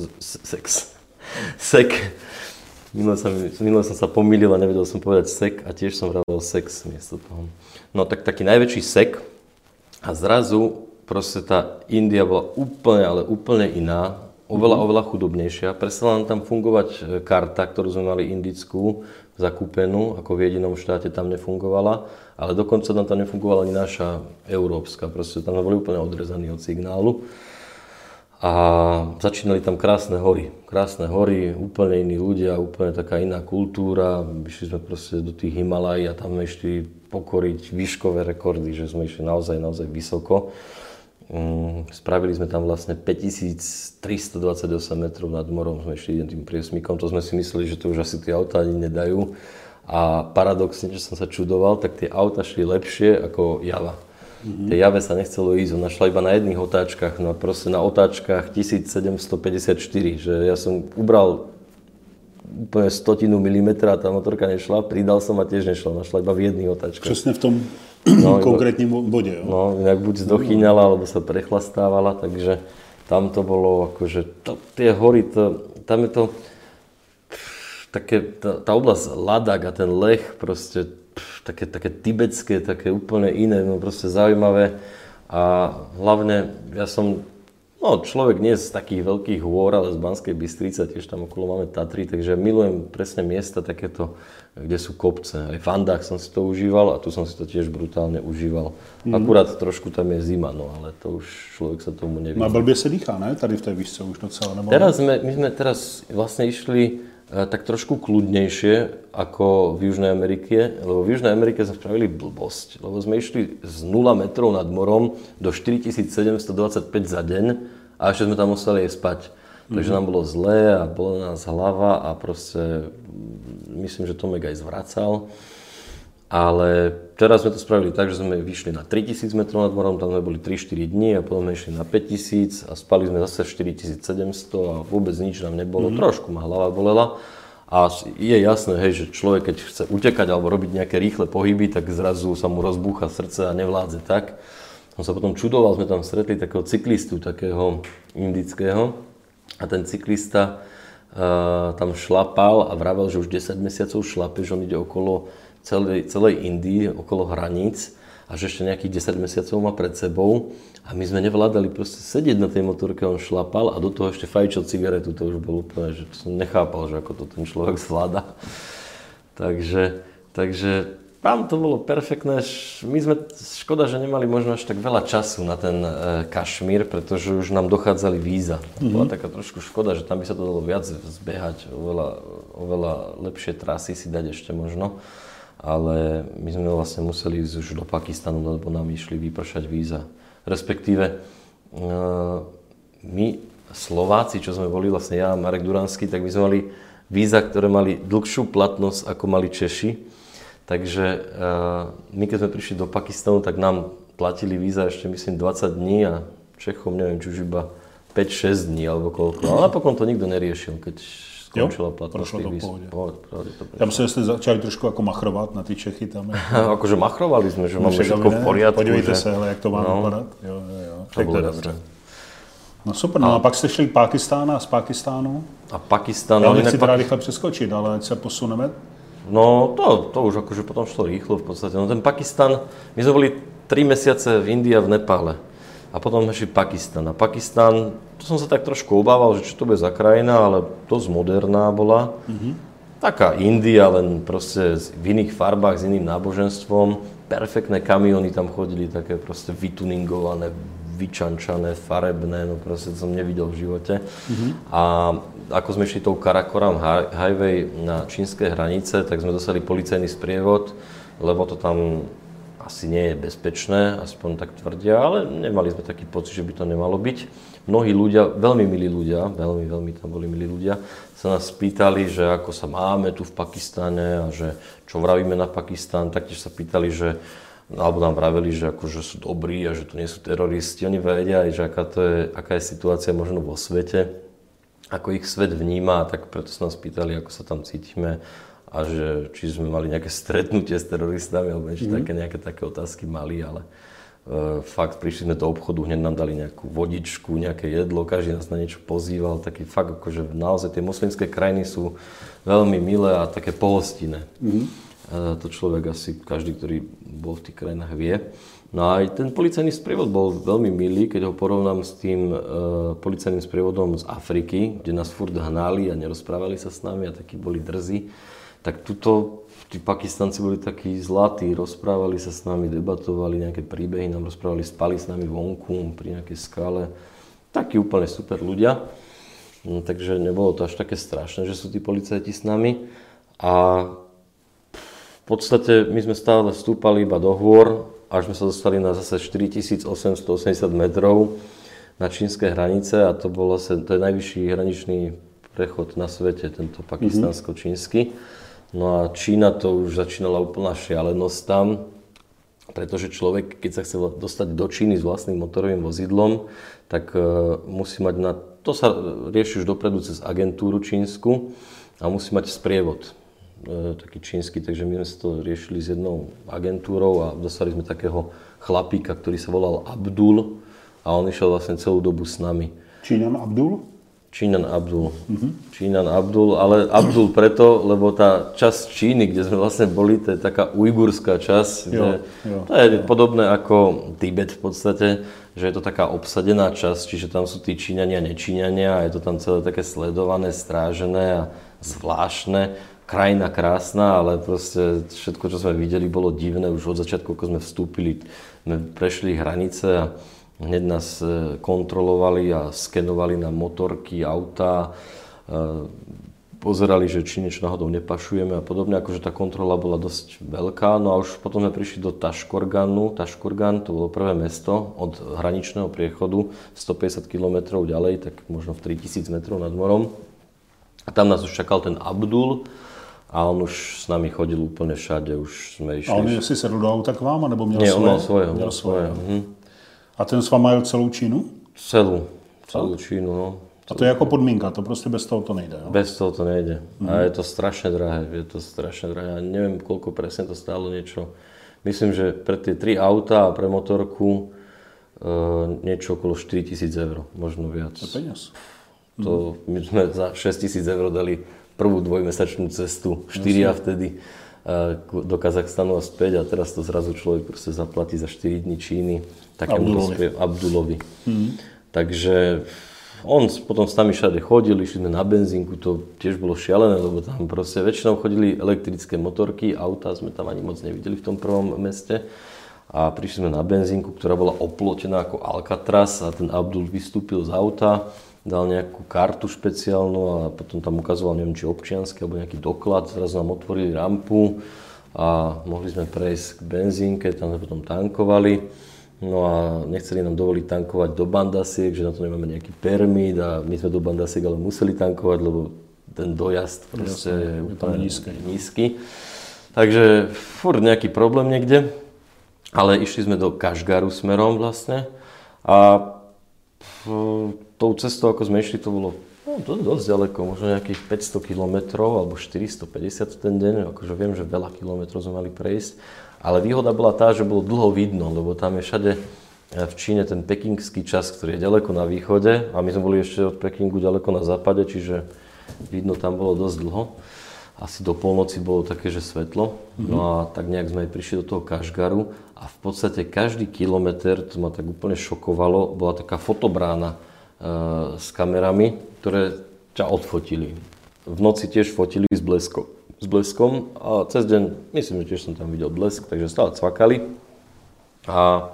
sek. Minule som sa pomýlil a nevedel som povedať sek a tiež som vravel sex miesto toho. No tak taký najväčší sek a zrazu proste tá India bola úplne iná, oveľa chudobnejšia. Prestala nám tam fungovať karta, ktorú sme mali indickú, zakúpenú, ako v jedinom štáte tam nefungovala, ale dokonca tam nefungovala ani naša európska, proste tam boli úplne odrezaní od signálu. A začínali tam krásne hory, úplne iní ľudia, úplne taká iná kultúra. Išli sme proste do tých Himalají a tam sme išli pokoriť výškové rekordy, že sme išli naozaj vysoko. Spravili sme tam vlastne 5328 metrov nad morom, sme išli tým priesmykom, to sme si mysleli, že to už asi tie autá ani nedajú. A paradoxne, že som sa čudoval, tak tie auta šli lepšie ako Java. Tej Jave sa nechcelo ísť, ona šla iba na jedných otáčkach, no proste na otáčkach 1754, že ja som ubral úplne 100 milimetra, tá motorka nešla, pridal som a tiež nešla, našla iba v jedných otáčkach. Přesne v tom konkrétním bode, jo? No, inak buď zdochyňala, alebo sa prechlastávala, takže tam to bolo akože, tie hory, tam je to také, tá oblasť Ladakh a ten Leh proste, také tibetské, také úplne iné, no proste zaujímavé a hlavne ja som No, človek nie z takých veľkých hôr, ale z Banskej Bystrice, tiež tam okolo máme Tatry, takže milujem presne miesta takéto, kde sú kopce. Aj v Andách som si to užíval a tu som si to tiež brutálne užíval. Akurát trošku tam je zima, no ale to už človek sa tomu nevyzná. No blbě se dýchá, ne? Tady v té výšce už docela, nebo? My sme teraz vlastne išli tak trošku kľudnejšie ako v Južnej Amerike, lebo v Južnej Amerike sme spravili blbosť, lebo sme išli z 0 metrov nad morom do 4725 za deň a ešte sme tam museli aj spať. Takže nám bolo zlé a bola nás hlava a proste myslím, že Tomek aj zvracal. Ale teraz sme to spravili tak, že sme vyšli na 3000 metrov nad morom, tam sme boli 3-4 dní a potom sme išli na 5000 a spali sme zase 4700 a vôbec nič nám nebolo. Trošku ma hlava bolela a je jasné, hej, že človek keď chce utekať alebo robiť nejaké rýchle pohyby, tak zrazu sa mu rozbúcha srdce a nevládze tak. On sa potom čudoval, sme tam stretli takého cyklistu, takého indického a ten cyklista tam šlapal a vravel, že už 10 mesiacov šlape, že on ide okolo celej Indii, okolo hraníc a že ešte nejakých 10 mesiacov má pred sebou a my sme nevládali proste sedieť na tej motorke, on šlapal a do toho ešte fajčil cigaretu, to už bolo úplne, že som nechápal, že ako to ten človek zvláda. Takže tam to bolo perfektné, škoda, že nemali možno až tak veľa času na ten Kašmír, pretože už nám dochádzali víza. Bola taká trošku škoda, že tam by sa to dalo viac zbehať, oveľa lepšie trasy si dať ešte možno. Ale my sme vlastne museli ísť už do Pakistanu, lebo nám išli vypršať víza. Respektíve my Slováci, čo sme boli, vlastne ja a Marek Duranský, tak my sme mali víza, ktoré mali dlhšiu platnosť, ako mali Češi. Takže my keď sme prišli do Pakistanu, tak nám platili víza ešte myslím 20 dní a Čechom neviem, či už iba 5-6 dní alebo koľko. Ale napokon to nikto neriešil, keď skončila platnosť tých víz. Tam se jste začali trošku jako machrovat na ty Čechy tam. Akože machrovali sme, že máme všetko v poriadku. Podívejte se, hele, jak to má vypadat. Jo. To bolo dobré. No super, no a pak jste šli Pákistán a z Pákistánu? A Pakistán... Já nechci teda rychle přeskočit, ale ať se posuneme. No to už akože potom šlo rýchlo v podstate. No ten Pakistan, my sme boli 3 mesiace v Indii a v Nepále. A potom sme šli Pakistan. A Pakistan, to som sa tak trošku obával, že čo to bude za krajina, ale dosť moderná bola. Taká India, len proste v iných farbách, s iným náboženstvom. Perfektné kamióny tam chodili, také proste vytuningované, vyčančané, farebné, no proste to som nevidel v živote. A ako sme išli tou Karakoram highway na čínske hranice, tak sme dostali policajný sprievod, lebo to tam asi nie je bezpečné, aspoň tak tvrdia, ale nemali sme taký pocit, že by to nemalo byť. Mnohí ľudia, veľmi milí ľudia, veľmi tam boli milí ľudia, sa nás pýtali, že ako sa máme tu v Pakistane a že čo vravíme na Pakistan, taktiež sa pýtali, že alebo nám vraveli, že akože sú dobrí a že to nie sú teroristi. Oni vedia, že aká je situácia možno vo svete, ako ich svet vníma, tak preto sa nás pýtali, ako sa tam cítime a že či sme mali nejaké stretnutie s teroristami, alebo nejaké také otázky mali, ale fakt prišli sme do obchodu, hneď nám dali nejakú vodičku, nejaké jedlo, každý nás na niečo pozýval, taký fakt akože naozaj tie moslimské krajiny sú veľmi milé a také pohostinné. To človek asi, každý, ktorý bol v tých krajinách vie. No a aj ten policajný sprievod bol veľmi milý, keď ho porovnám s tým policajným sprievodom z Afriky, kde nás furt hnali a nerozprávali sa s nami a takí boli drzí. Tak tuto tí Pakistanci boli takí zlatí, rozprávali sa s nami, debatovali nejaké príbehy, nám rozprávali, spali s nami vonku pri nejakej skale. Takí úplne super ľudia. No, takže nebolo to až také strašné, že sú tí policajti s nami. A v podstate my sme stále vstúpali iba do hôr, až sme sa dostali na zase 4880 metrov na čínske hranice a to je najvyšší hraničný prechod na svete, tento pakistánsko-čínsky. No a Čína to už začínala úplná šialenosť tam, pretože človek, keď sa chce dostať do Číny s vlastným motorovým vozidlom, tak musí mať to sa rieši už dopredu cez agentúru čínsku a musí mať sprievod taký čínsky, takže my sme to riešili s jednou agentúrou a dostali sme takého chlapíka, ktorý sa volal Abdul a on išiel vlastne celú dobu s nami. Číňan Abdul? Číňan Abdul. Číňan Abdul, ale Abdul preto, lebo tá časť Číny, kde sme vlastne boli, to je taká ujgurská časť, to je podobné ako Tibet v podstate, že je to taká obsadená časť, čiže tam sú tí Číňania, nečíňania a je to tam celé také sledované, strážené a zvláštne. Krajina krásna, ale proste všetko, čo sme videli, bolo divné. Už od začiatku, ako sme vstúpili, sme prešli hranice a hneď nás kontrolovali a skenovali na motorky, autá, pozerali, že či niečo náhodou nepašujeme a podobne, akože tá kontrola bola dosť veľká. No a už potom sme prišli do Taškorganu. Taškorgan, to bolo prvé mesto od hraničného priechodu, 150 km ďalej, tak možno v 3000 metrov nad morom. A tam nás už čakal ten Abdul a on už s nami chodil úplne všade, už sme išli. A on si sedl do auta k vám, nebo měl svoje? Nie, on mal svoje. A ten s váma jel celou Čínu? Celú Čínu, no. A to je jako podmínka, to prostě bez toho to nejde, jo? Bez toho to nejde. A je to strašne drahé, Ja neviem, koľko presne to stálo niečo. Myslím, že pre tie 3 auta a pre motorku niečo okolo 4000 eur, možno viac. To je peniaz. To my sme za 6000 eur dali prvú dvojmesačnú cestu, 4 vtedy do Kazachstanu a späť a teraz to zrazu človek proste zaplatí za 4 dní Číny takému Abdulovi. Takže on potom s nami všade chodil, išli sme na benzínku, to tiež bolo šialené, lebo tam proste väčšinou chodili elektrické motorky, autá sme tam ani moc nevideli v tom prvom meste. A prišli sme na benzínku, ktorá bola oplotená ako Alcatraz a ten Abdul vystúpil z auta, dal nejakú kartu špeciálnu a potom tam ukazoval, neviem, či občiansky alebo nejaký doklad, zrazu nám otvorili rampu a mohli sme prejsť k benzínke, tam sme potom tankovali. No a nechceli nám dovoliť tankovať do bandasiek, že na to nemáme nejaký permít a my sme do bandasiek ale museli tankovať, lebo ten dojazd proste je úplne nízky. Takže furt nejaký problém niekde, ale išli sme do Kašgaru smerom vlastne a tou cestou, ako sme išli, to bolo dosť ďaleko, možno nejakých 500 km alebo 450 v ten deň, akože viem, že veľa kilometrov sme mali prejsť. Ale výhoda bola tá, že bolo dlho vidno, lebo tam je všade v Číne ten pekingský čas, ktorý je ďaleko na východe a my sme boli ešte od Pekingu ďaleko na západe, čiže vidno tam bolo dosť dlho. Asi do polnoci bolo také, že svetlo. No a tak nejak sme aj prišli do toho Kašgaru a v podstate každý kilometr, to ma tak úplne šokovalo, bola taká fotobrána s kamerami, ktoré ťa odfotili. V noci tiež fotili s bleskom a cez deň, myslím, že tiež som tam videl blesk, takže stále cvakali a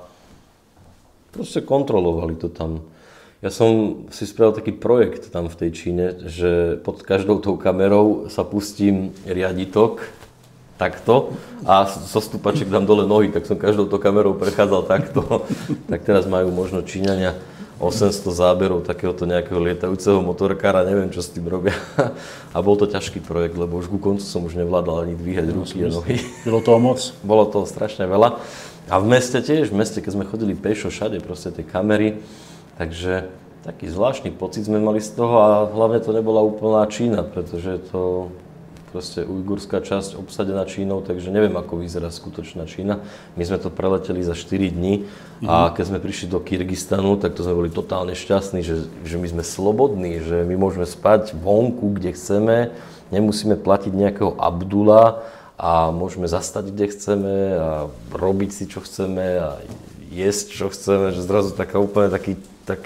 proste kontrolovali to tam. Ja som si spravil taký projekt tam v tej Číne, že pod každou tou kamerou sa pustím riaditok takto a so stúpaček dám dole nohy, tak som každou tou kamerou prechádzal takto. Tak teraz majú možno Číňania 800 záberov takéhoto nejakého lietajúceho motorkára, neviem, čo s tým robia. A bol to ťažký projekt, lebo už ku koncu som už nevládal ani dvíhať ruky a nohy. Bylo toho moc? Bolo toho strašne veľa. A v meste tiež, keď sme chodili pešo, všade proste tie kamery. Takže taký zvláštny pocit sme mali z toho a hlavne to nebola úplná Čína, pretože to proste ujgurská časť obsadená Čínou, takže neviem, ako vyzerá skutočná Čína. My sme to preleteli za 4 dní a keď sme prišli do Kyrgyzstanu, tak to sme boli totálne šťastní, že my sme slobodní, že my môžeme spať vonku, kde chceme, nemusíme platiť nejakého Abdula a môžeme zastať, kde chceme a robiť si, čo chceme a jesť, čo chceme, že zrazu taká úplne taký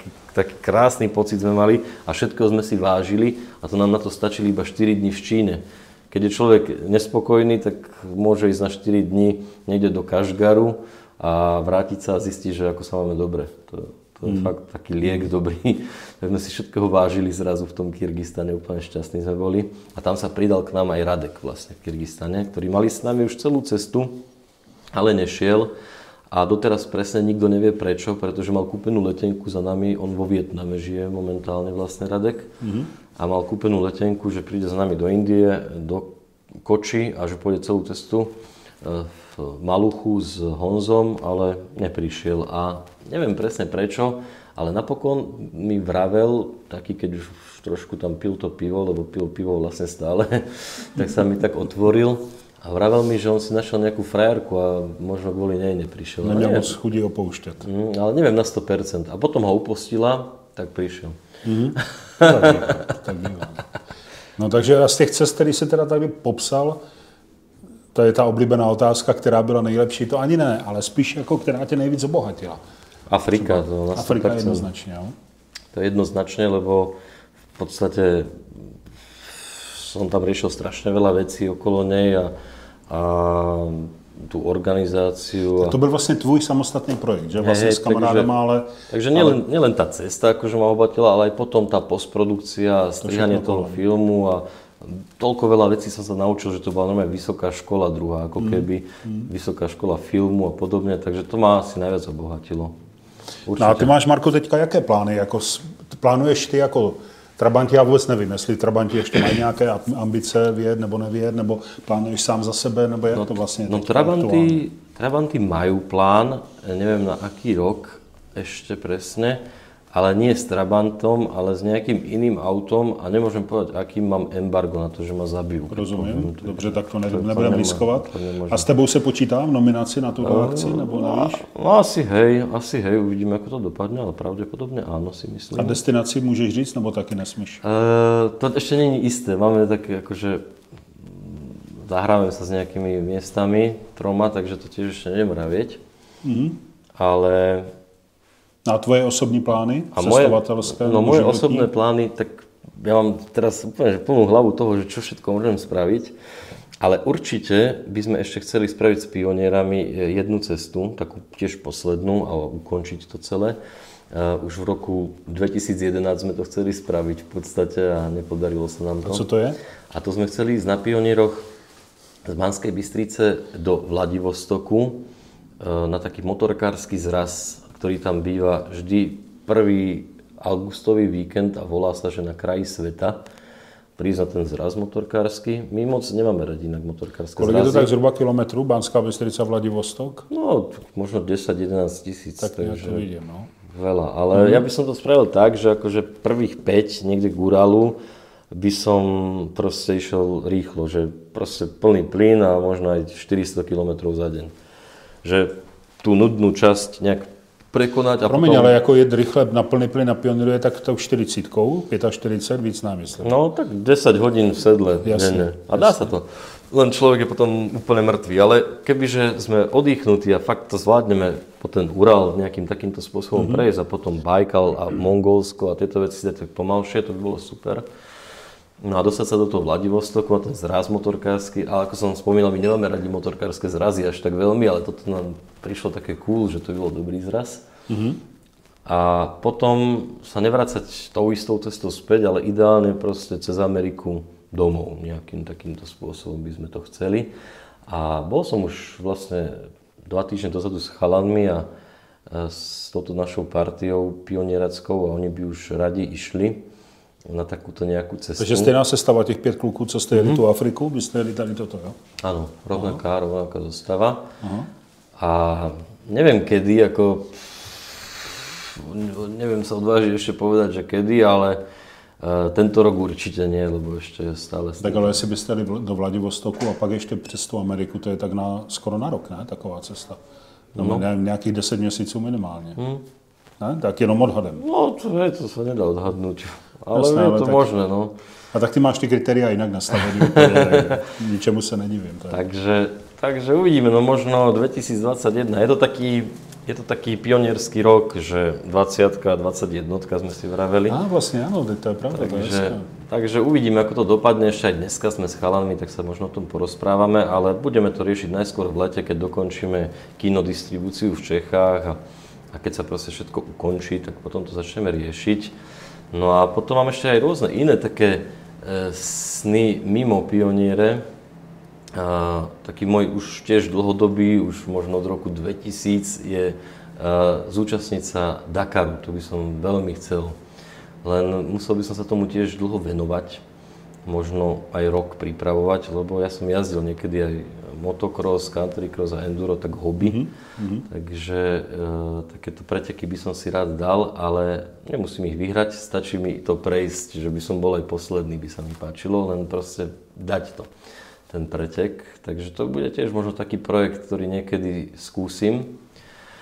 krásny pocit sme mali a všetko sme si vážili a to nám na to stačili iba 4 dní v Číne. Keď je človek nespokojný, tak môže ísť na 4 dní niekde do Kašgaru a vrátiť sa a zistiť, že ako sa máme dobre. To je fakt taký liek dobrý. Tak sme si všetkého vážili zrazu v tom Kyrgyzstane, úplne šťastní sme boli. A tam sa pridal k nám aj Radek vlastne v Kyrgyzstane, ktorý mali s nami už celú cestu, ale nešiel. A doteraz presne nikto nevie prečo, pretože mal kúpenú letenku za nami, on vo Vietname žije momentálne vlastne Radek. A mal kúpenú letenku, že príde za nami do Indie, do Koči a že pôjde celú cestu v Maluchu s Honzom, ale neprišiel. A neviem presne prečo, ale napokon mi vravel, taký keď už trošku tam pil to pivo, lebo pil pivo vlastne stále, tak sa mi tak otvoril. A vravel mi, že on si našiel nejakú frajerku a možno kvôli nej neprišiel. Neměl moc chudí opoušťať. Ale neviem na 100%. A potom ho upostila, tak prišiel. Tak bývá. No takže z těch cest, který se teda tady popsal, to je ta oblíbená otázka, která byla nejlepší, to ani ne, ale spíš jako, která tě nejvíc obohatila. Afrika, to na 100%. Afrika jednoznačně, jo? To je jednoznačne, lebo v podstate som tam riešil strašne veľa vecí okolo nej a tú organizáciu. To byl vlastně tvůj samostatný projekt, že? Vlastně s kamarádama, ale... Takže nielen tá cesta, akože ma obohatila, ale aj potom tá postprodukcia, strihanie toho filmu a toľko veľa vecí som sa naučil, že to bola normálne vysoká škola druhá, ako keby vysoká škola filmu a podobne, takže to ma asi najviac obohatilo. Určitě. No a ty máš, Marko, teďka jaké plány? Jako, plánuješ ty jako Trabanti, já vůbec nevím, jestli Trabanti ještě mají nějaké ambice vyjet nebo nevyjet, nebo plánuješ sám za sebe, nebo jak to vlastně No Trabanti majú plán, neviem na aký rok ešte presne, ale nie s Trabantom, ale s nejakým iným autom a nemôžem povedať, akým mám embargo na to, že ma zabijú. Rozumím, dobře, tak to nebudeme riskovat. A s tebou se počítá v nominaci na túto akci, nebo nevíš? No asi hej, uvidíme, ako to dopadne, ale pravdepodobne áno, si myslím. A destinaci můžeš říct, nebo taky nesmíš? To ešte nie je isté, máme také akože zahráme sa s nejakými miestami, 3, takže to tiež ešte neviem vravieť, ale... A tvoje osobní plány? Cestovatelské? No moje osobné plány, tak ja mám teraz úplne plnú hlavu toho, že čo všetko môžem spraviť, ale určite by sme ešte chceli spraviť s pionierami jednu cestu, takú tiež poslednú a ukončiť to celé. Už v roku 2011 sme to chceli spraviť v podstate a nepodarilo sa nám to. A co to je? A to sme chceli ísť na pionieroch z Banskej Bystrice do Vladivostoku na taký motorkársky zraz, ktorý tam býva vždy 1. augustový víkend a volá sa, že na kraji sveta. Prísť na ten zraz motorkársky. My moc nemáme radi inak motorkárske zrazy. Kolik je to tak zhruba kilometrů, Banská Bystrica, Vladivostok? No, možno 10-11 tisíc. Tak ja to vidím, no. Veľa, ale ja by som to spravil tak, že akože prvých 5 niekde k Uralu by som proste išiel rýchlo, že proste plný plyn a možno aj 400 km za deň. Že tú nudnú časť nejak prekonať a Promiň, potom... ale jako jet rychle na plný plyn na Pionieru je tak tou 40, 45, víc námysl. No tak 10 hodín v sedle denne. A dá sa to. Len človek je potom úplne mŕtvý. Ale kebyže sme oddychnutí a fakt to zvládneme po ten Ural nejakým takýmto spôsobom prejsť a potom Bajkal a Mongolsko a tieto veci dať tak pomalšie, to by bolo super. No a dostať sa do toho Vladivostoku a ten zraz motorkársky, ale ako som spomínal, my nemáme radi motorkárske zrazy až tak veľmi, ale toto nám prišlo také cool, že to by bol dobrý zraz. A potom sa nevracať tou istou cestou späť, ale ideálne proste cez Ameriku domov. Nejakým takýmto spôsobom by sme to chceli. A bol som už vlastne 2 týždne dozadu s chalanmi a s touto našou partiou pionierackou a oni by už radi išli na takúto nejakú cestu. Takže stejná sestava těch 5 kluků, co jste jeli tu Afriku, byste jeli tady toto, jo? Áno, rovnaká zostava. A neviem kedy, ako... Neviem sa odvážiť ešte povedať, že kedy, ale tento rok určite nie, lebo ešte stále... Tak ale jestli byste jeli do Vladivostoku a pak ještě přes tu Ameriku, to je tak skoro na rok, ne? Taková cesta. No. Nějakých 10 měsíců minimálně. Ne? Tak jenom odhadem. No, to sa nedá odhadnúť. Ale jasné, je to tak, možné, no. A tak ty máš ty kritéria inak nastavené, ničemu sa nedivím. Takže uvidíme, no možno 2021. Je to taký pionierský rok, že 20 a 21 sme si vraveli. Á, vlastne áno, to je pravda. Takže uvidíme, ako to dopadne. Ešte aj dneska sme s chalanmi, tak sa možno o tom porozprávame, ale budeme to riešiť najskôr v lete, keď dokončíme kinodistribúciu v Čechách a keď sa proste všetko ukončí, tak potom to začneme riešiť. No a potom mám ešte aj rôzne iné také sny mimo pioniere. Taký môj už tiež dlhodobý, už možno od roku 2000 je zúčastniť sa Dakaru. To by som veľmi chcel. Len musel by som sa tomu tiež dlho venovať. Možno aj rok pripravovať, lebo ja som jazdil niekedy aj motocross, countrycross a enduro, tak hobby. Takže takéto preteky by som si rád dal, ale nemusím ich vyhrať, stačí mi to prejsť, že by som bol aj posledný, by sa mi páčilo, len proste dať to, ten pretek. Takže to bude tiež možno taký projekt, ktorý niekedy skúsim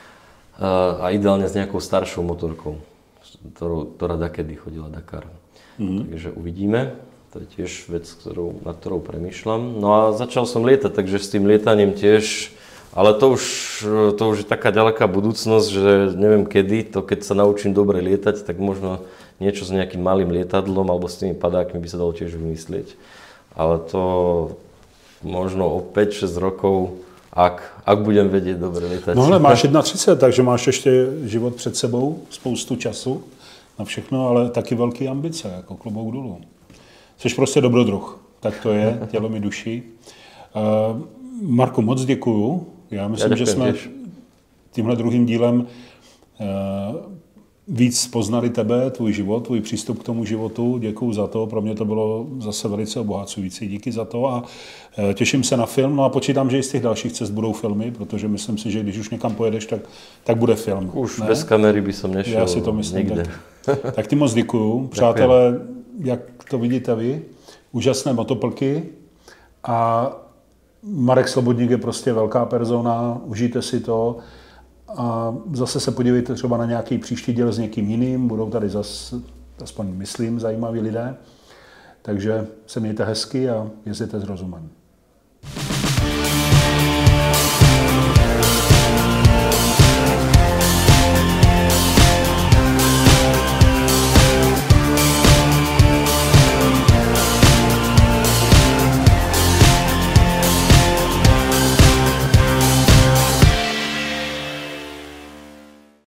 a ideálne s nejakou staršou motorkou, ktorá dakedy chodila Dakar. Takže uvidíme. To je tiež vec, nad ktorou premýšľam. No a začal som lietať, takže s tým lietaním tiež, ale to už je taká ďaleká budúcnosť, že neviem kedy, to keď sa naučím dobre lietať, tak možno niečo s nejakým malým lietadlom alebo s tými padákmi by sa dalo tiež vymyslieť. Ale to možno o 5-6 rokov, ak budem vedieť dobre lietať. No ale máš 31, takže máš ještě život před sebou, spoustu času na všechno, ale taky velký ambice, jako klobouk dolů. Jsi prostě dobrodruh, tak to je, tělo mi duší. Marku, moc děkuju. Já myslím, že jsme tímhle druhým dílem víc poznali tebe, tvůj život, tvůj přístup k tomu životu. Děkuju za to, pro mě to bylo zase velice obohacující. Díky za to a těším se na film. No a počítám, že i z těch dalších cest budou filmy, protože myslím si, že když už někam pojedeš, tak bude film. Už ne? Bez kamery by som nešel. Já si to myslím. Tak ty moc děkuju. Přátelé, jak to vidíte vy, úžasné motoplky a Marek Slobodník je prostě velká persona, užijte si to a zase se podívejte třeba na nějaký příští díl s někým jiným, budou tady zase, aspoň myslím, zajímaví lidé, takže se mějte hezky a jezděte s rozumem.